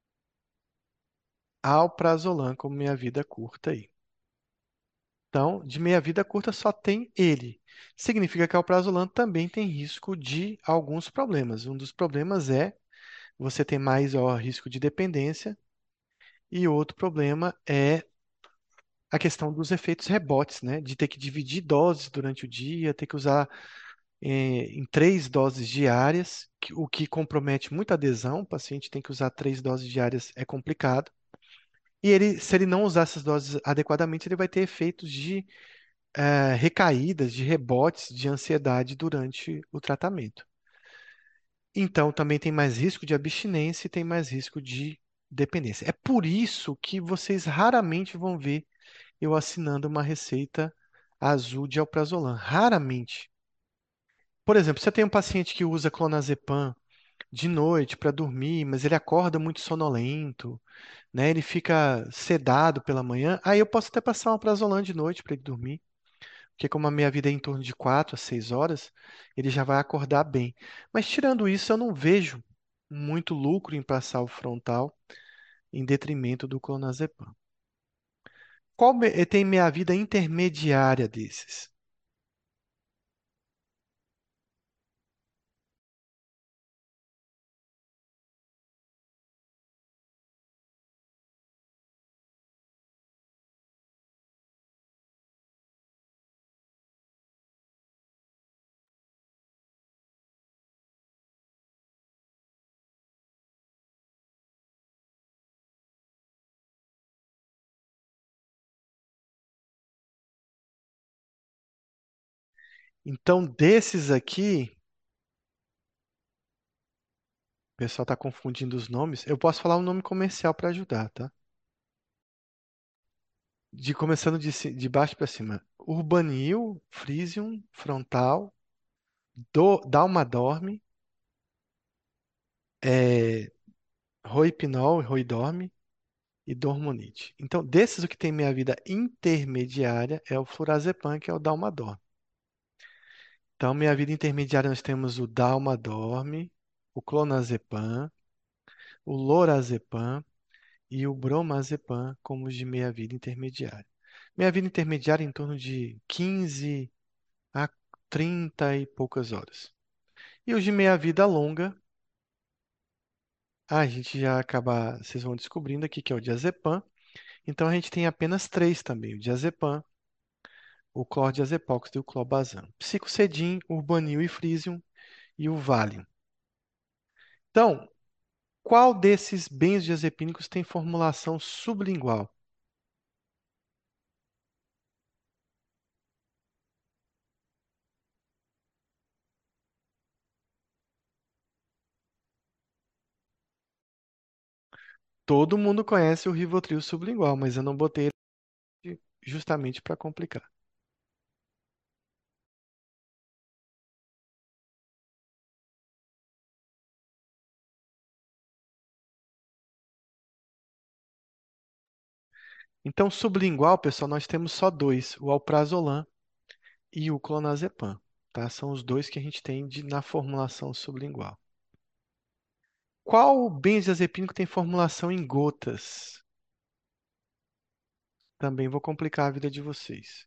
alprazolam como meia-vida curta aí. Então, de meia-vida curta só tem ele. Significa que o alprazolam também tem risco de alguns problemas. Um dos problemas é você ter mais ó, risco de dependência, e outro problema é a questão dos efeitos rebotes, né? De ter que dividir doses durante o dia, ter que usar eh, em três doses diárias, que- o que compromete muita adesão. O paciente tem que usar três doses diárias, é complicado. E ele, se ele não usar essas doses adequadamente, ele vai ter efeitos de eh, recaídas, de rebotes de ansiedade durante o tratamento. Então, também tem mais risco de abstinência e tem mais risco de dependência. É por isso que vocês raramente vão ver eu assinando uma receita azul de alprazolam. Raramente. Por exemplo, se eu tenho um paciente que usa clonazepam de noite para dormir, mas ele acorda muito sonolento, né? Ele fica sedado pela manhã, aí eu posso até passar um alprazolam de noite para ele dormir, porque como a minha vida é em torno de quatro a seis horas, ele já vai acordar bem. Mas tirando isso, eu não vejo muito lucro em passar o frontal em detrimento do clonazepam. Qual me- tem meia vida intermediária desses? Então, desses aqui, o pessoal está confundindo os nomes. Eu posso falar um nome comercial para ajudar, tá? De começando de, ci- de baixo para cima. Urbanil, Frisium, Frontal, Do, Dalmadorme, é, Roipinol, Roidorme e Dormonide. Então, desses o que tem meia vida intermediária é o Flurazepam, que é o Dalmadorme. Então, meia vida intermediária nós temos o Dalmadorme, o Clonazepam, o Lorazepam e o Bromazepam como os de meia vida intermediária. Meia vida intermediária em torno de quinze a trinta e poucas horas. E os de meia vida longa, a gente já acaba, vocês vão descobrindo aqui que é o diazepam. Então a gente tem apenas três também, o diazepam, o clordiazepóxido e o clobazam. Psicocedim, Urbanil e Frisium e o Valium. Então, qual desses benzodiazepínicos tem formulação sublingual? Todo mundo conhece o Rivotril sublingual, mas eu não botei ele justamente para complicar. Então, sublingual, pessoal, nós temos só dois, o alprazolam e o clonazepam, tá? São os dois que a gente tem de- na formulação sublingual. Qual benzodiazepínico tem formulação em gotas? Também vou complicar a vida de vocês.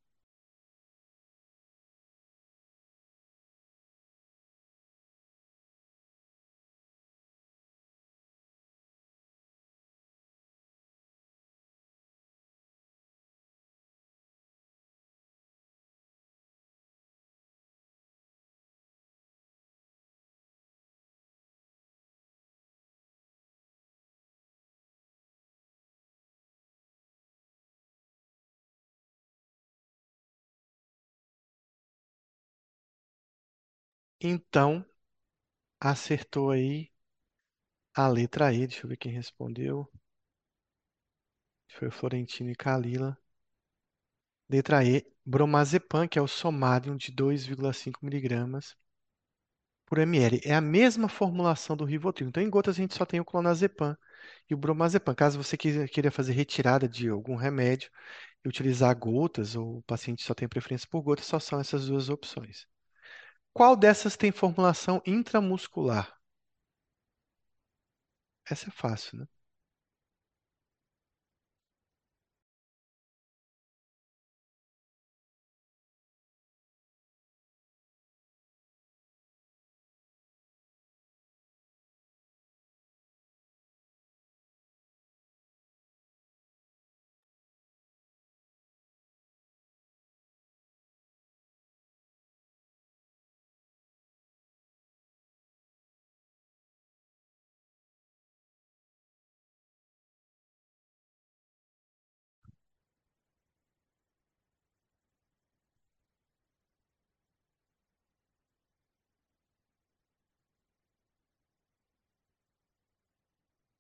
Então, acertou aí a letra E. Deixa eu ver quem respondeu. Foi o Florentino e Calila. Letra E, bromazepam, que é o Somadium de dois vírgula cinco miligramas por ml. É a mesma formulação do Rivotril. Então, em gotas, a gente só tem o clonazepam e o bromazepam. Caso você queira queira fazer retirada de algum remédio e utilizar gotas, ou o paciente só tem preferência por gotas, só são essas duas opções. Qual dessas tem formulação intramuscular? Essa é fácil, né?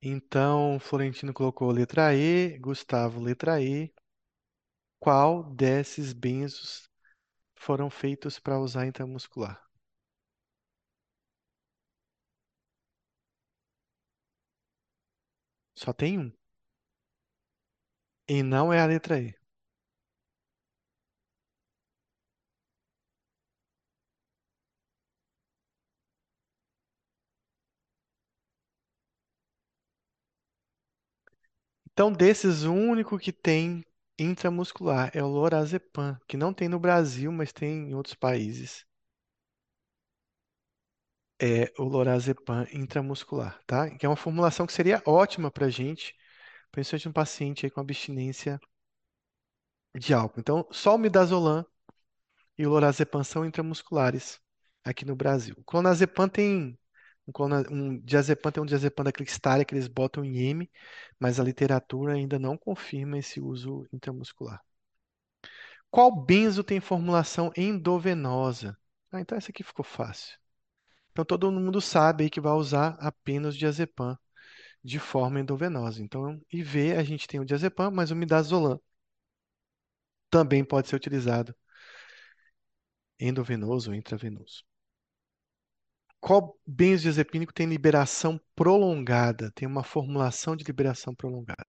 Então, Florentino colocou letra E, Gustavo letra E. Qual desses benzos foram feitos para usar intramuscular? Só tem um. E não é a letra E. Então, desses, o único que tem intramuscular é o lorazepam, que não tem no Brasil, mas tem em outros países. É o lorazepam intramuscular, tá? Que é uma formulação que seria ótima para gente, principalmente um paciente aí com abstinência de álcool. Então, só o midazolam e o lorazepam são intramusculares aqui no Brasil. O clonazepam tem um, clona- um diazepam tem um diazepam da Clixtária que eles botam em M, mas a literatura ainda não confirma esse uso intramuscular. Qual benzo tem formulação endovenosa? Ah, então essa aqui ficou fácil. Então todo mundo sabe aí que vai usar apenas o diazepam de forma endovenosa. Então, I V a gente tem o diazepam, mas o midazolam também pode ser utilizado endovenoso ou intravenoso. Qual benzodiazepínico tem liberação prolongada? Tem uma formulação de liberação prolongada.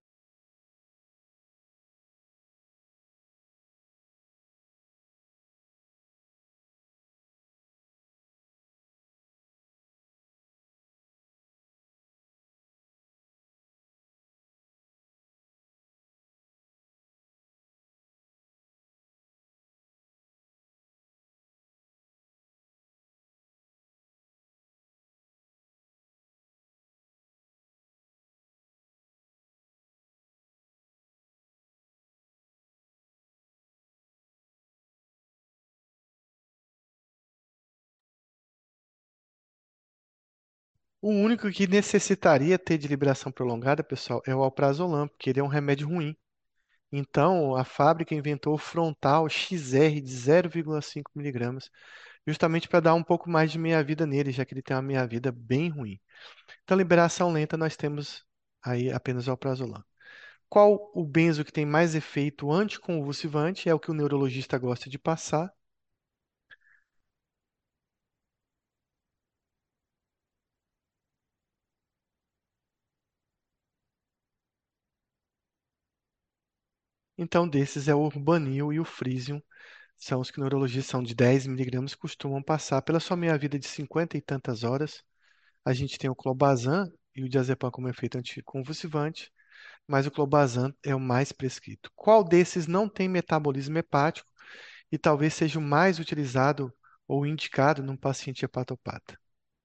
O único que necessitaria ter de liberação prolongada, pessoal, é o alprazolam, porque ele é um remédio ruim. Então, a fábrica inventou o frontal X R de zero vírgula cinco miligramas, justamente para dar um pouco mais de meia-vida nele, já que ele tem uma meia-vida bem ruim. Então, liberação lenta, nós temos aí apenas o alprazolam. Qual o benzo que tem mais efeito anticonvulsivante? É o que o neurologista gosta de passar. Então, desses é o Urbanil e o Frisium, são os que neurologistas são de dez miligramas, costumam passar pela sua meia-vida de cinquenta e tantas horas. A gente tem o clobazam e o diazepam como efeito anticonvulsivante, mas o clobazam é o mais prescrito. Qual desses não tem metabolismo hepático e talvez seja o mais utilizado ou indicado num paciente hepatopata?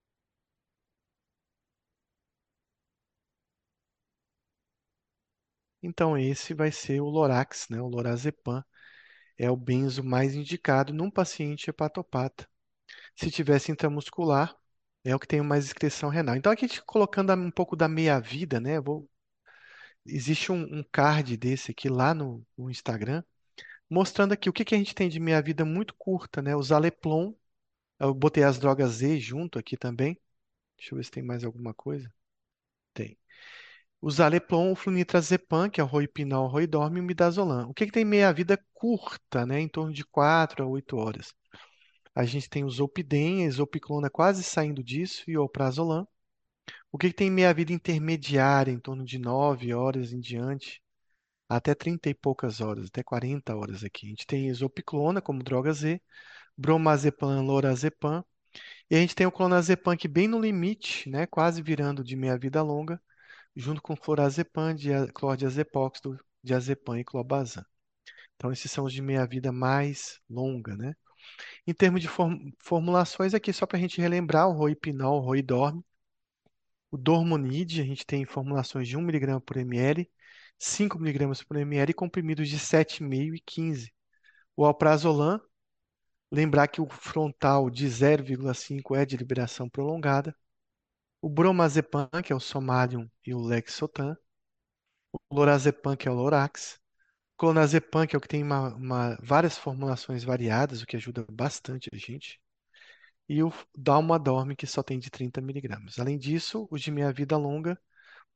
Então, esse vai ser o Lorax, né? O lorazepam é o benzo mais indicado num paciente hepatopata. Se tivesse intramuscular, é o que tem mais excreção renal. Então, aqui a gente colocando um pouco da meia-vida, né? Vou- Existe um, um card desse aqui lá no, no Instagram, mostrando aqui o que que a gente tem de meia-vida muito curta, né? O Zaleplon, eu botei as drogas Z junto aqui também. Deixa eu ver se tem mais alguma coisa. Tem. O Zaleplon, o flunitrazepam, que é o Roipinol, Roidorm e o Midazolam. O que que tem meia-vida curta, né? Em torno de quatro a oito horas. A gente tem o Zolpidem, a Zolpiclona quase saindo disso, e o Alprazolam. O que que tem meia-vida intermediária, em torno de nove horas em diante, até trinta e poucas horas, até quarenta horas aqui. A gente tem Zolpiclona como droga Z, Bromazepam, Lorazepam, e a gente tem o Clonazepam que bem no limite, né, quase virando de meia-vida longa, junto com Florazepam, dia- Clordiazepóxido, Diazepam e Clobazam. Então, esses são os de meia-vida mais longa, né? Em termos de form- formulações, aqui só para a gente relembrar, o Roipinol, o Roidorm, o Dormonide, a gente tem formulações de um miligrama por ml, cinco miligramas por ml e comprimidos de sete vírgula cinco e quinze. O Alprazolam, lembrar que o frontal de zero vírgula cinco é de liberação prolongada. O Bromazepam, que é o Somalium e o Lexotan. O Lorazepam, que é o Lorax. Clonazepam, que é o que tem uma, uma- várias formulações variadas, o que ajuda bastante a gente. E o Dalmadorm, que só tem de trinta miligramas. Além disso, os de meia-vida longa,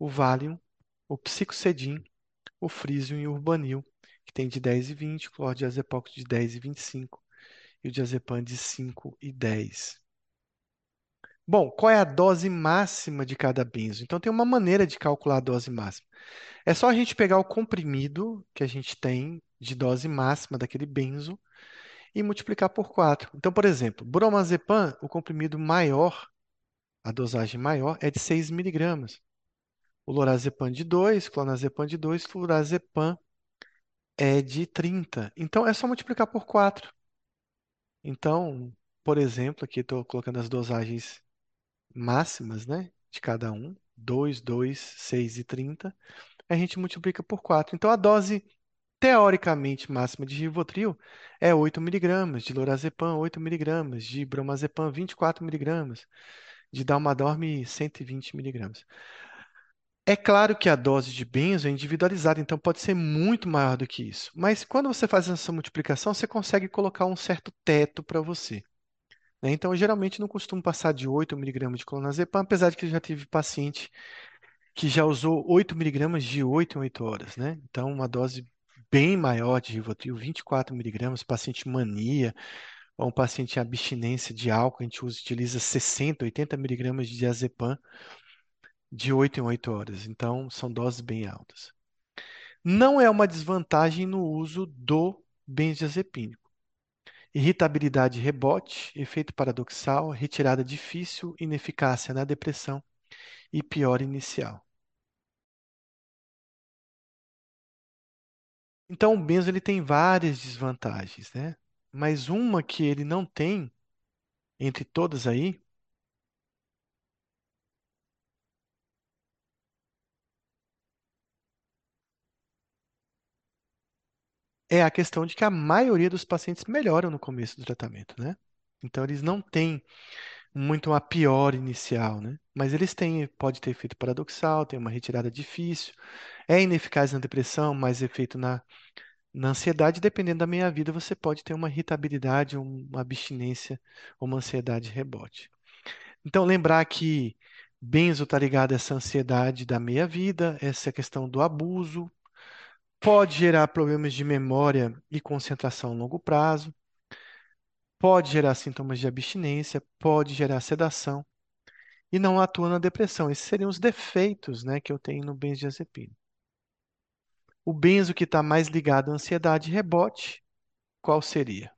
o Valium, o Psicocedin, o Frisium e o Urbanil, que tem de dez e vinte, o clordiazepox de dez e vinte e cinco e o diazepam de cinco e dez. Bom, qual é a dose máxima de cada benzo? Então tem uma maneira de calcular a dose máxima. É só a gente pegar o comprimido que a gente tem de dose máxima daquele benzo e multiplicar por quatro. Então, por exemplo, bromazepam, o comprimido maior, a dosagem maior é de seis miligramas. O lorazepam de dois, clonazepam de dois, flurazepam é de trinta. Então, é só multiplicar por quatro. Então, por exemplo, aqui estou colocando as dosagens máximas, né, de cada um, dois, dois, seis e trinta. A gente multiplica por quatro. Então, a dose teoricamente máxima de Rivotril é oito miligramas, de lorazepam oito miligramas, de bromazepam vinte e quatro miligramas, de Dalmadorm cento e vinte miligramas. É claro que a dose de benzo é individualizada, então pode ser muito maior do que isso. Mas quando você faz essa multiplicação, você consegue colocar um certo teto para você, né? Então, eu geralmente não costumo passar de oito miligramas de clonazepam, apesar de que eu já tive paciente que já usou oito miligramas de oito em oito horas, né? Então, uma dose bem maior de Rivotril, vinte e quatro miligramas, paciente mania, ou um paciente em abstinência de álcool, a gente usa, utiliza sessenta, oitenta miligramas de diazepam de oito em oito horas. Então, são doses bem altas. Não é uma desvantagem no uso do benzodiazepínico. Irritabilidade e rebote, efeito paradoxal, retirada difícil, ineficácia na depressão e pior inicial. Então, o benzo ele tem várias desvantagens, né? Mas uma que ele não tem, entre todas aí, é a questão de que a maioria dos pacientes melhoram no começo do tratamento, né? Então, eles não têm muito uma pior inicial, né? Mas eles têm, pode ter efeito paradoxal, tem uma retirada difícil, é ineficaz na depressão, mais efeito na, na ansiedade, dependendo da meia-vida, você pode ter uma irritabilidade, uma abstinência, uma ansiedade rebote. Então, lembrar que benzo está ligado a essa ansiedade da meia-vida, essa questão do abuso, pode gerar problemas de memória e concentração a longo prazo, pode gerar sintomas de abstinência, pode gerar sedação e não atua na depressão. Esses seriam os defeitos, né, que eu tenho no benzodiazepina. O benzo que está mais ligado à ansiedade e rebote, qual seria?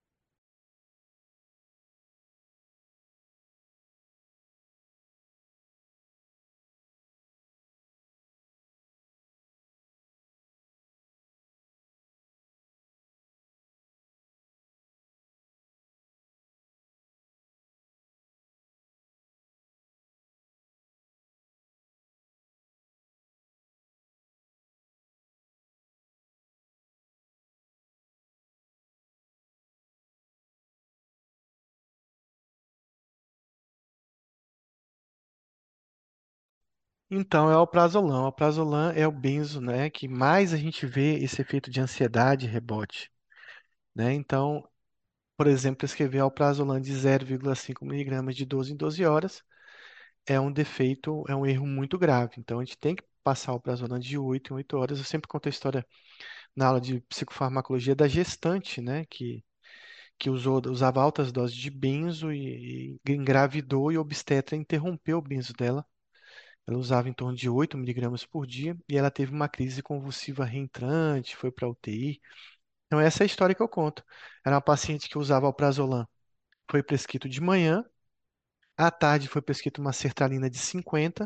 Então, é o alprazolam. O alprazolam é o benzo, né, que mais a gente vê esse efeito de ansiedade e rebote, né? Então, por exemplo, prescrever alprazolam de zero vírgula cinco miligramas de doze em doze horas é um defeito, é um erro muito grave. Então, a gente tem que passar o alprazolam de oito em oito horas. Eu sempre conto a história na aula de psicofarmacologia da gestante, né, que, que usou, usava altas doses de benzo e, e engravidou e o obstetra interrompeu o benzo dela. Ela usava em torno de oito miligramas por dia e ela teve uma crise convulsiva reentrante, foi para U T I. Então, essa é a história que eu conto. Era uma paciente que usava alprazolam. Foi prescrito de manhã, à tarde foi prescrito uma sertralina de cinquenta,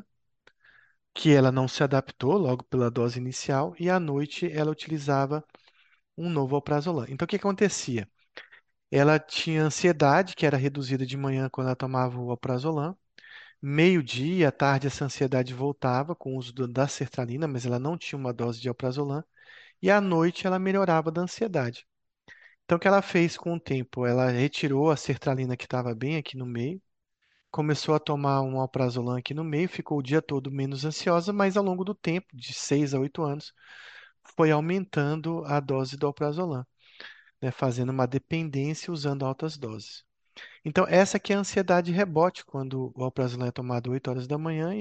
que ela não se adaptou logo pela dose inicial, e à noite ela utilizava um novo alprazolam. Então, o que acontecia? Ela tinha ansiedade, que era reduzida de manhã quando ela tomava o alprazolam. Meio-dia, à tarde, essa ansiedade voltava com o uso do- da sertralina, mas ela não tinha uma dose de alprazolam. E à noite ela melhorava da ansiedade. Então, o que ela fez com o tempo? Ela retirou a sertralina que estava bem aqui no meio, começou a tomar um alprazolam aqui no meio, ficou o dia todo menos ansiosa, mas ao longo do tempo, de seis a oito anos, foi aumentando a dose do alprazolam, né, fazendo uma dependência usando altas doses. Então, essa aqui é a ansiedade rebote, quando o alprazolam é tomado oito horas da manhã e lá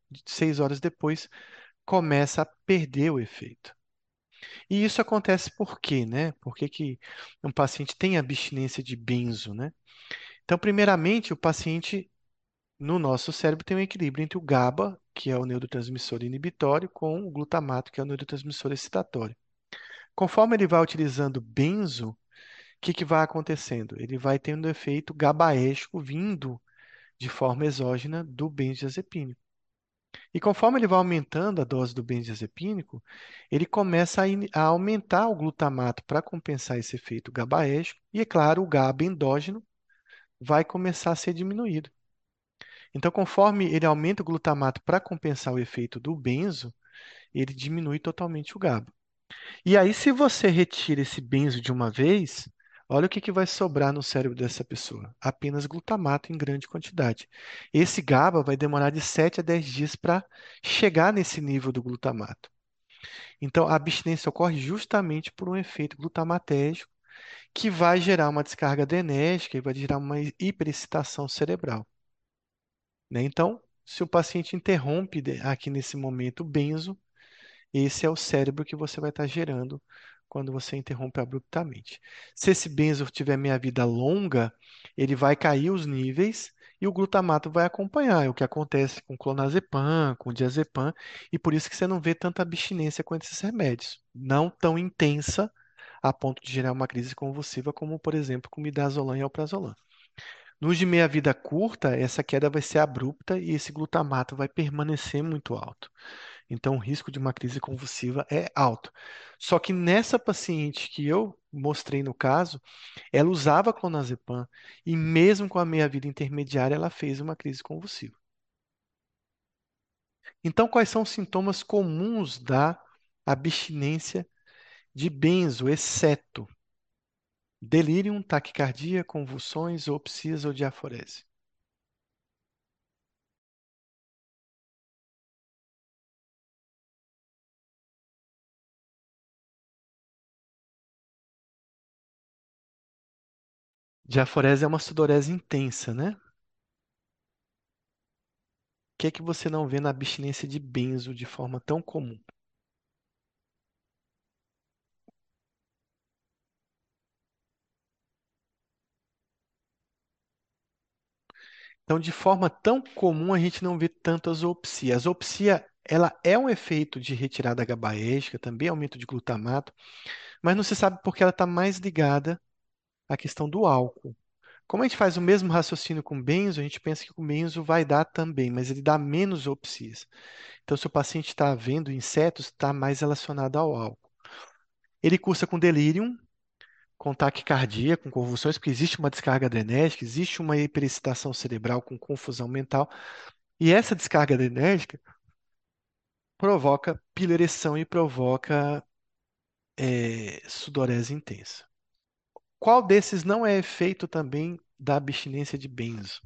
seis horas depois, começa a perder o efeito. E isso acontece por quê, né? Por que que um paciente tem abstinência de benzo, né? Então, primeiramente, o paciente no nosso cérebro tem um equilíbrio entre o GABA, que é o neurotransmissor inibitório, com o glutamato, que é o neurotransmissor excitatório. Conforme ele vai utilizando benzo, o que que vai acontecendo? Ele vai tendo efeito GABAérgico vindo de forma exógena do benzodiazepínico. E conforme ele vai aumentando a dose do benzodiazepínico, ele começa a, in- a aumentar o glutamato para compensar esse efeito GABAérgico, e é claro, o GABA endógeno vai começar a ser diminuído. Então, conforme ele aumenta o glutamato para compensar o efeito do benzo, ele diminui totalmente o GABA. E aí, se você retira esse benzo de uma vez, olha o que que vai sobrar no cérebro dessa pessoa: apenas glutamato em grande quantidade. Esse GABA vai demorar de sete a dez dias para chegar nesse nível do glutamato. Então, a abstinência ocorre justamente por um efeito glutamatérgico que vai gerar uma descarga adrenérgica e vai gerar uma hiperexcitação cerebral, né? Então, se o paciente interrompe de- aqui nesse momento o benzo, esse é o cérebro que você vai estar gerando quando você interrompe abruptamente. Se esse benzo tiver meia-vida longa, ele vai cair os níveis e o glutamato vai acompanhar. É o que acontece com clonazepam, com diazepam, e por isso que você não vê tanta abstinência com esses remédios. Não tão intensa a ponto de gerar uma crise convulsiva, como, por exemplo, com midazolam e alprazolam. Nos de meia-vida curta, essa queda vai ser abrupta e esse glutamato vai permanecer muito alto. Então, o risco de uma crise convulsiva é alto. Só que nessa paciente que eu mostrei no caso, ela usava clonazepam e mesmo com a meia-vida intermediária, ela fez uma crise convulsiva. Então, quais são os sintomas comuns da abstinência de benzo, exceto delírio, taquicardia, convulsões, opsias ou diaforese? Diaforese é uma sudorese intensa, né? O que é que você não vê na abstinência de benzo de forma tão comum? Então, de forma tão comum, a gente não vê tanto a zoopsia. A zoopsia, ela é um efeito de retirada gabaérgica, também aumento de glutamato, mas não se sabe porque ela está mais ligada à questão do álcool. Como a gente faz o mesmo raciocínio com benzo, a gente pensa que com benzo vai dar também, mas ele dá menos zoopsias. Então, se o paciente está vendo insetos, está mais relacionado ao álcool. Ele cursa com delírio, com taquicardia, com convulsões, porque existe uma descarga adrenérgica, existe uma hiperexcitação cerebral com confusão mental. E essa descarga adrenérgica provoca piloereção e provoca eh, sudorese intensa. Qual desses não é efeito também da abstinência de benzo?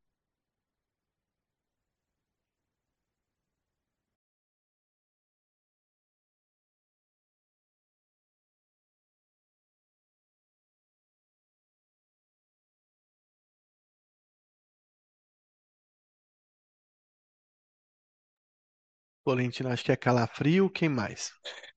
Valentina, acho que é calafrio, quem mais?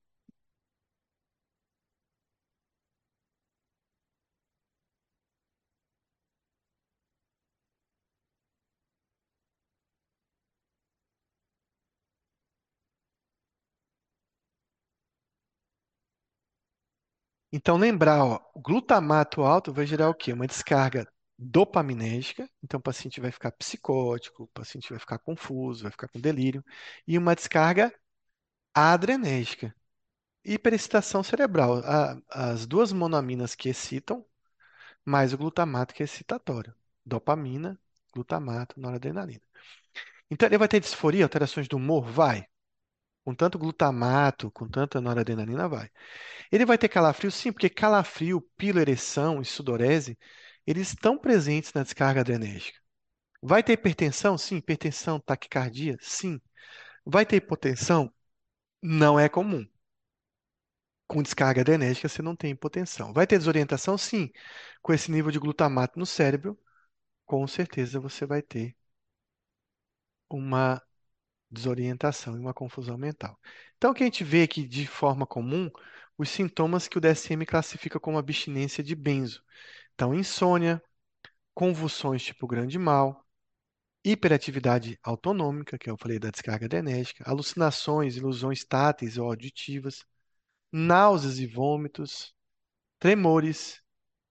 Então, lembrar, ó, o glutamato alto vai gerar o quê? Uma descarga dopaminérgica, então o paciente vai ficar psicótico, o paciente vai ficar confuso, vai ficar com delírio, e uma descarga adrenérgica, hiperexcitação cerebral. A- as duas monoaminas que excitam, mais o glutamato que é excitatório. Dopamina, glutamato, noradrenalina. Então, ele vai ter disforia, alterações do humor? Vai. Com tanto glutamato, com tanta noradrenalina, vai. Ele vai ter calafrio? Sim, porque calafrio, piloereção e sudorese, eles estão presentes na descarga adrenérgica. Vai ter hipertensão? Sim. Hipertensão, taquicardia? Sim. Vai ter hipotensão? Não é comum. Com descarga adrenérgica, você não tem hipotensão. Vai ter desorientação? Sim. Com esse nível de glutamato no cérebro, com certeza você vai ter uma desorientação e uma confusão mental. Então, o que a gente vê aqui de forma comum, os sintomas que o D S M classifica como abstinência de benzo. Então, insônia, convulsões tipo grande mal, hiperatividade autonômica, que eu falei da descarga adrenérgica, alucinações, ilusões táteis ou auditivas, náuseas e vômitos, tremores,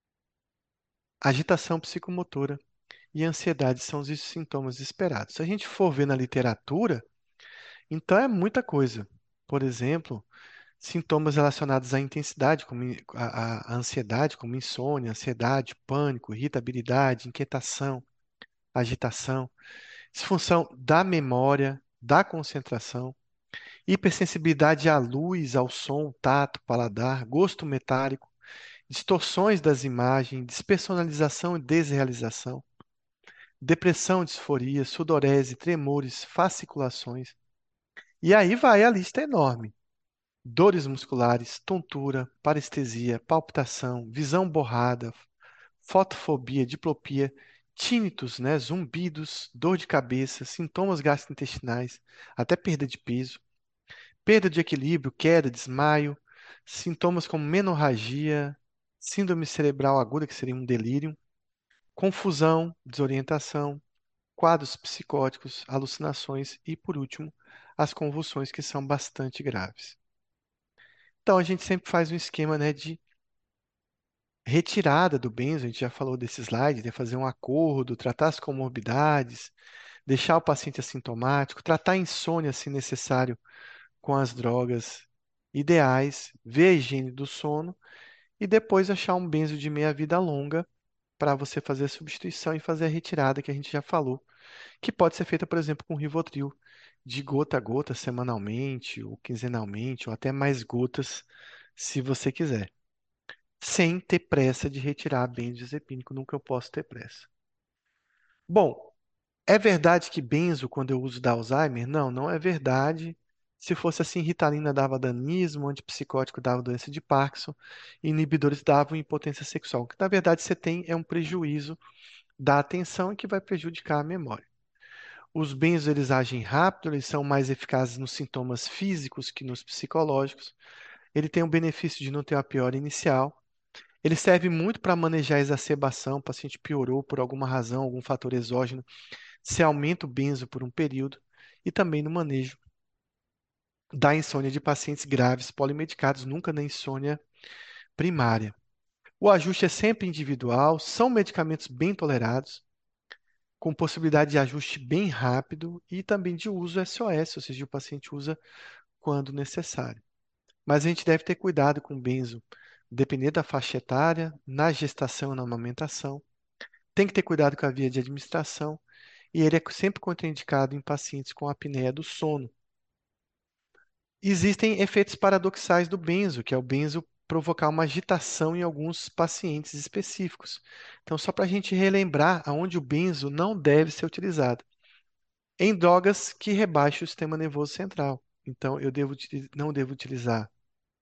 agitação psicomotora e ansiedade são os sintomas esperados. Se a gente for ver na literatura, então é muita coisa. Por exemplo, sintomas relacionados à intensidade, como in- a, a ansiedade, como insônia, ansiedade, pânico, irritabilidade, inquietação, agitação, disfunção da memória, da concentração, hipersensibilidade à luz, ao som, tato, paladar, gosto metálico, distorções das imagens, despersonalização e desrealização, depressão, disforia, sudorese, tremores, fasciculações. E aí vai, a lista é enorme. Dores musculares, tontura, parestesia, palpitação, visão borrada, fotofobia, diplopia, tínitos, né, zumbidos, dor de cabeça, sintomas gastrointestinais, até perda de peso, perda de equilíbrio, queda, desmaio, sintomas como menorragia, síndrome cerebral aguda, que seria um delírio, confusão, desorientação, quadros psicóticos, alucinações e, por último, as convulsões, que são bastante graves. Então, a gente sempre faz um esquema, né, de retirada do benzo, a gente já falou desse slide, de fazer um acordo, tratar as comorbidades, deixar o paciente assintomático, tratar a insônia, se necessário, com as drogas ideais, ver a higiene do sono e depois achar um benzo de meia-vida longa para você fazer a substituição e fazer a retirada que a gente já falou, que pode ser feita, por exemplo, com Rivotril, de gota a gota, semanalmente ou quinzenalmente, ou até mais gotas, se você quiser, sem ter pressa de retirar benzodiazepínico, nunca eu posso ter pressa. Bom, é verdade que benzo, quando eu uso da Alzheimer? Não, não é verdade. Se fosse assim, Ritalina dava danismo, antipsicótico dava doença de Parkinson, inibidores davam impotência sexual. O que na verdade você tem é um prejuízo da atenção e que vai prejudicar a memória. Os benzos eles agem rápido, eles são mais eficazes nos sintomas físicos que nos psicológicos. Ele tem o benefício de não ter uma piora inicial. Ele serve muito para manejar a exacerbação, o paciente piorou por alguma razão, algum fator exógeno, se aumenta o benzo por um período, e também no manejo da insônia de pacientes graves polimedicados, nunca na insônia primária. O ajuste é sempre individual, são medicamentos bem tolerados, com possibilidade de ajuste bem rápido e também de uso S O S, ou seja, o paciente usa quando necessário. Mas a gente deve ter cuidado com o benzo, dependendo da faixa etária, na gestação e na amamentação. Tem que ter cuidado com a via de administração e ele é sempre contraindicado em pacientes com apneia do sono. Existem efeitos paradoxais do benzo, que é o benzo provocar uma agitação em alguns pacientes específicos. Então, só para a gente relembrar aonde o benzo não deve ser utilizado. Em drogas que rebaixam o sistema nervoso central. Então, eu devo, uti- não devo utilizar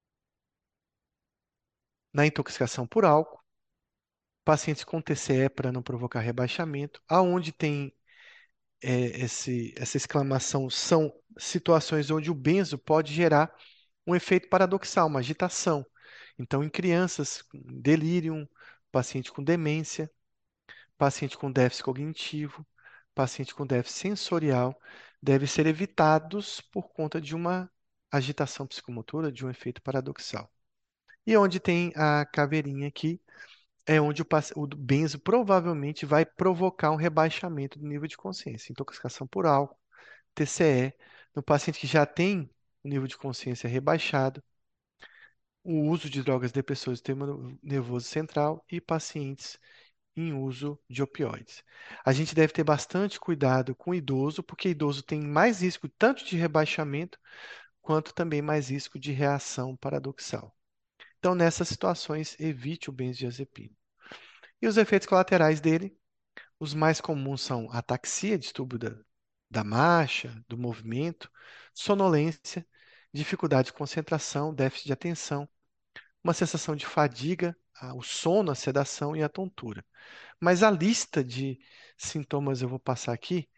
na intoxicação por álcool, pacientes com T C E para não provocar rebaixamento, aonde tem é, esse, essa exclamação são situações onde o benzo pode gerar um efeito paradoxal, uma agitação. Então, em crianças com delírio, paciente com demência, paciente com déficit cognitivo, paciente com déficit sensorial, devem ser evitados por conta de uma agitação psicomotora, de um efeito paradoxal. E onde tem a caveirinha aqui, é onde o, paci- o benzo provavelmente vai provocar um rebaixamento do nível de consciência, intoxicação por álcool, T C E, no paciente que já tem o nível de consciência rebaixado, o uso de drogas depressoras do sistema nervoso central e pacientes em uso de opioides. A gente deve ter bastante cuidado com o idoso, porque idoso tem mais risco tanto de rebaixamento quanto também mais risco de reação paradoxal. Então, nessas situações, evite o benzodiazepina. E os efeitos colaterais dele, os mais comuns são ataxia, distúrbio da, da marcha, do movimento, sonolência, dificuldade de concentração, déficit de atenção, uma sensação de fadiga, a- o sono, a sedação e a tontura. Mas a lista de sintomas eu vou passar aqui,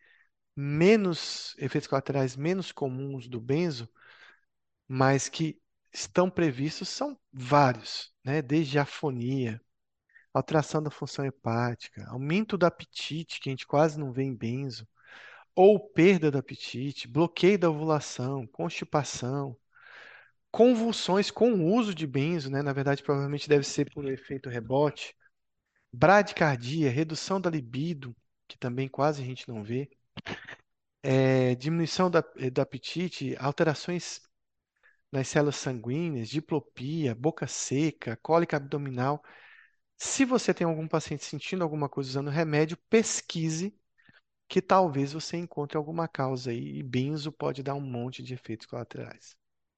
menos efeitos colaterais menos comuns do benzo, mas que estão previstos são vários, né? Desde afonia, alteração da função hepática, aumento do apetite, que a gente quase não vê em benzo, ou perda do apetite, bloqueio da ovulação, constipação, convulsões com o uso de benzo, né? Na verdade, provavelmente deve ser por efeito rebote, bradicardia, redução da libido, que também quase a gente não vê, é, diminuição da- do apetite, alterações nas células sanguíneas, diplopia, boca seca, cólica abdominal. Se você tem algum paciente sentindo alguma coisa usando remédio, pesquise que talvez você encontre alguma causa aí, e benzo pode dar um monte de efeitos colaterais.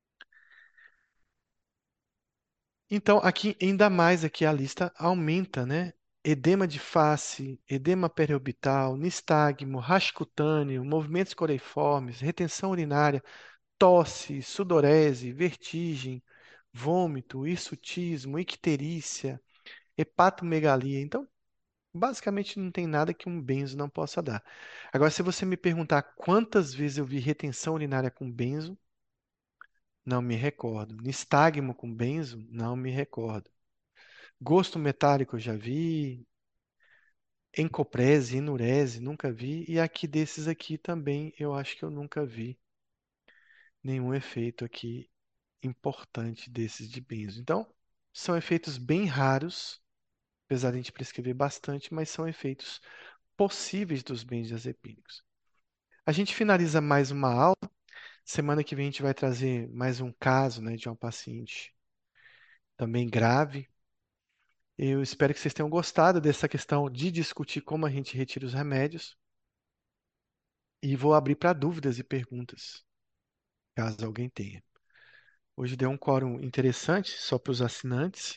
Então, aqui, ainda mais aqui a lista aumenta, né? Edema de face, edema periorbital, nistagmo, rash cutâneo, movimentos coreiformes, retenção urinária, tosse, sudorese, vertigem, vômito, hirsutismo, icterícia, hepatomegalia. Então, basicamente não tem nada que um benzo não possa dar. Agora, se você me perguntar quantas vezes eu vi retenção urinária com benzo, não me recordo. Nistagmo com benzo, não me recordo. Gosto metálico eu já vi. Encoprese, enurese, nunca vi. E aqui desses aqui também eu acho que eu nunca vi nenhum efeito aqui importante desses de benzo. Então, são efeitos bem raros, apesar de a gente prescrever bastante, mas são efeitos possíveis dos benzodiazepínicos. A gente finaliza mais uma aula. Semana que vem a gente vai trazer mais um caso, né, de uma paciente também grave. Eu espero que vocês tenham gostado dessa questão de discutir como a gente retira os remédios e vou abrir para dúvidas e perguntas, caso alguém tenha. Hoje deu um quórum interessante só para os assinantes.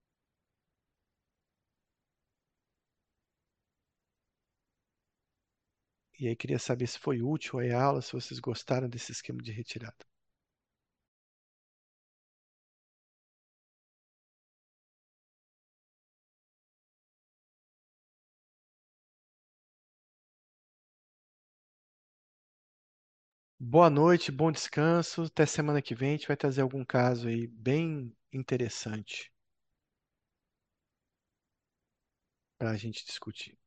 E aí queria saber se foi útil a aula, se vocês gostaram desse esquema de retirada. Boa noite, bom descanso. Até semana que vem a gente vai trazer algum caso aí bem interessante para a gente discutir.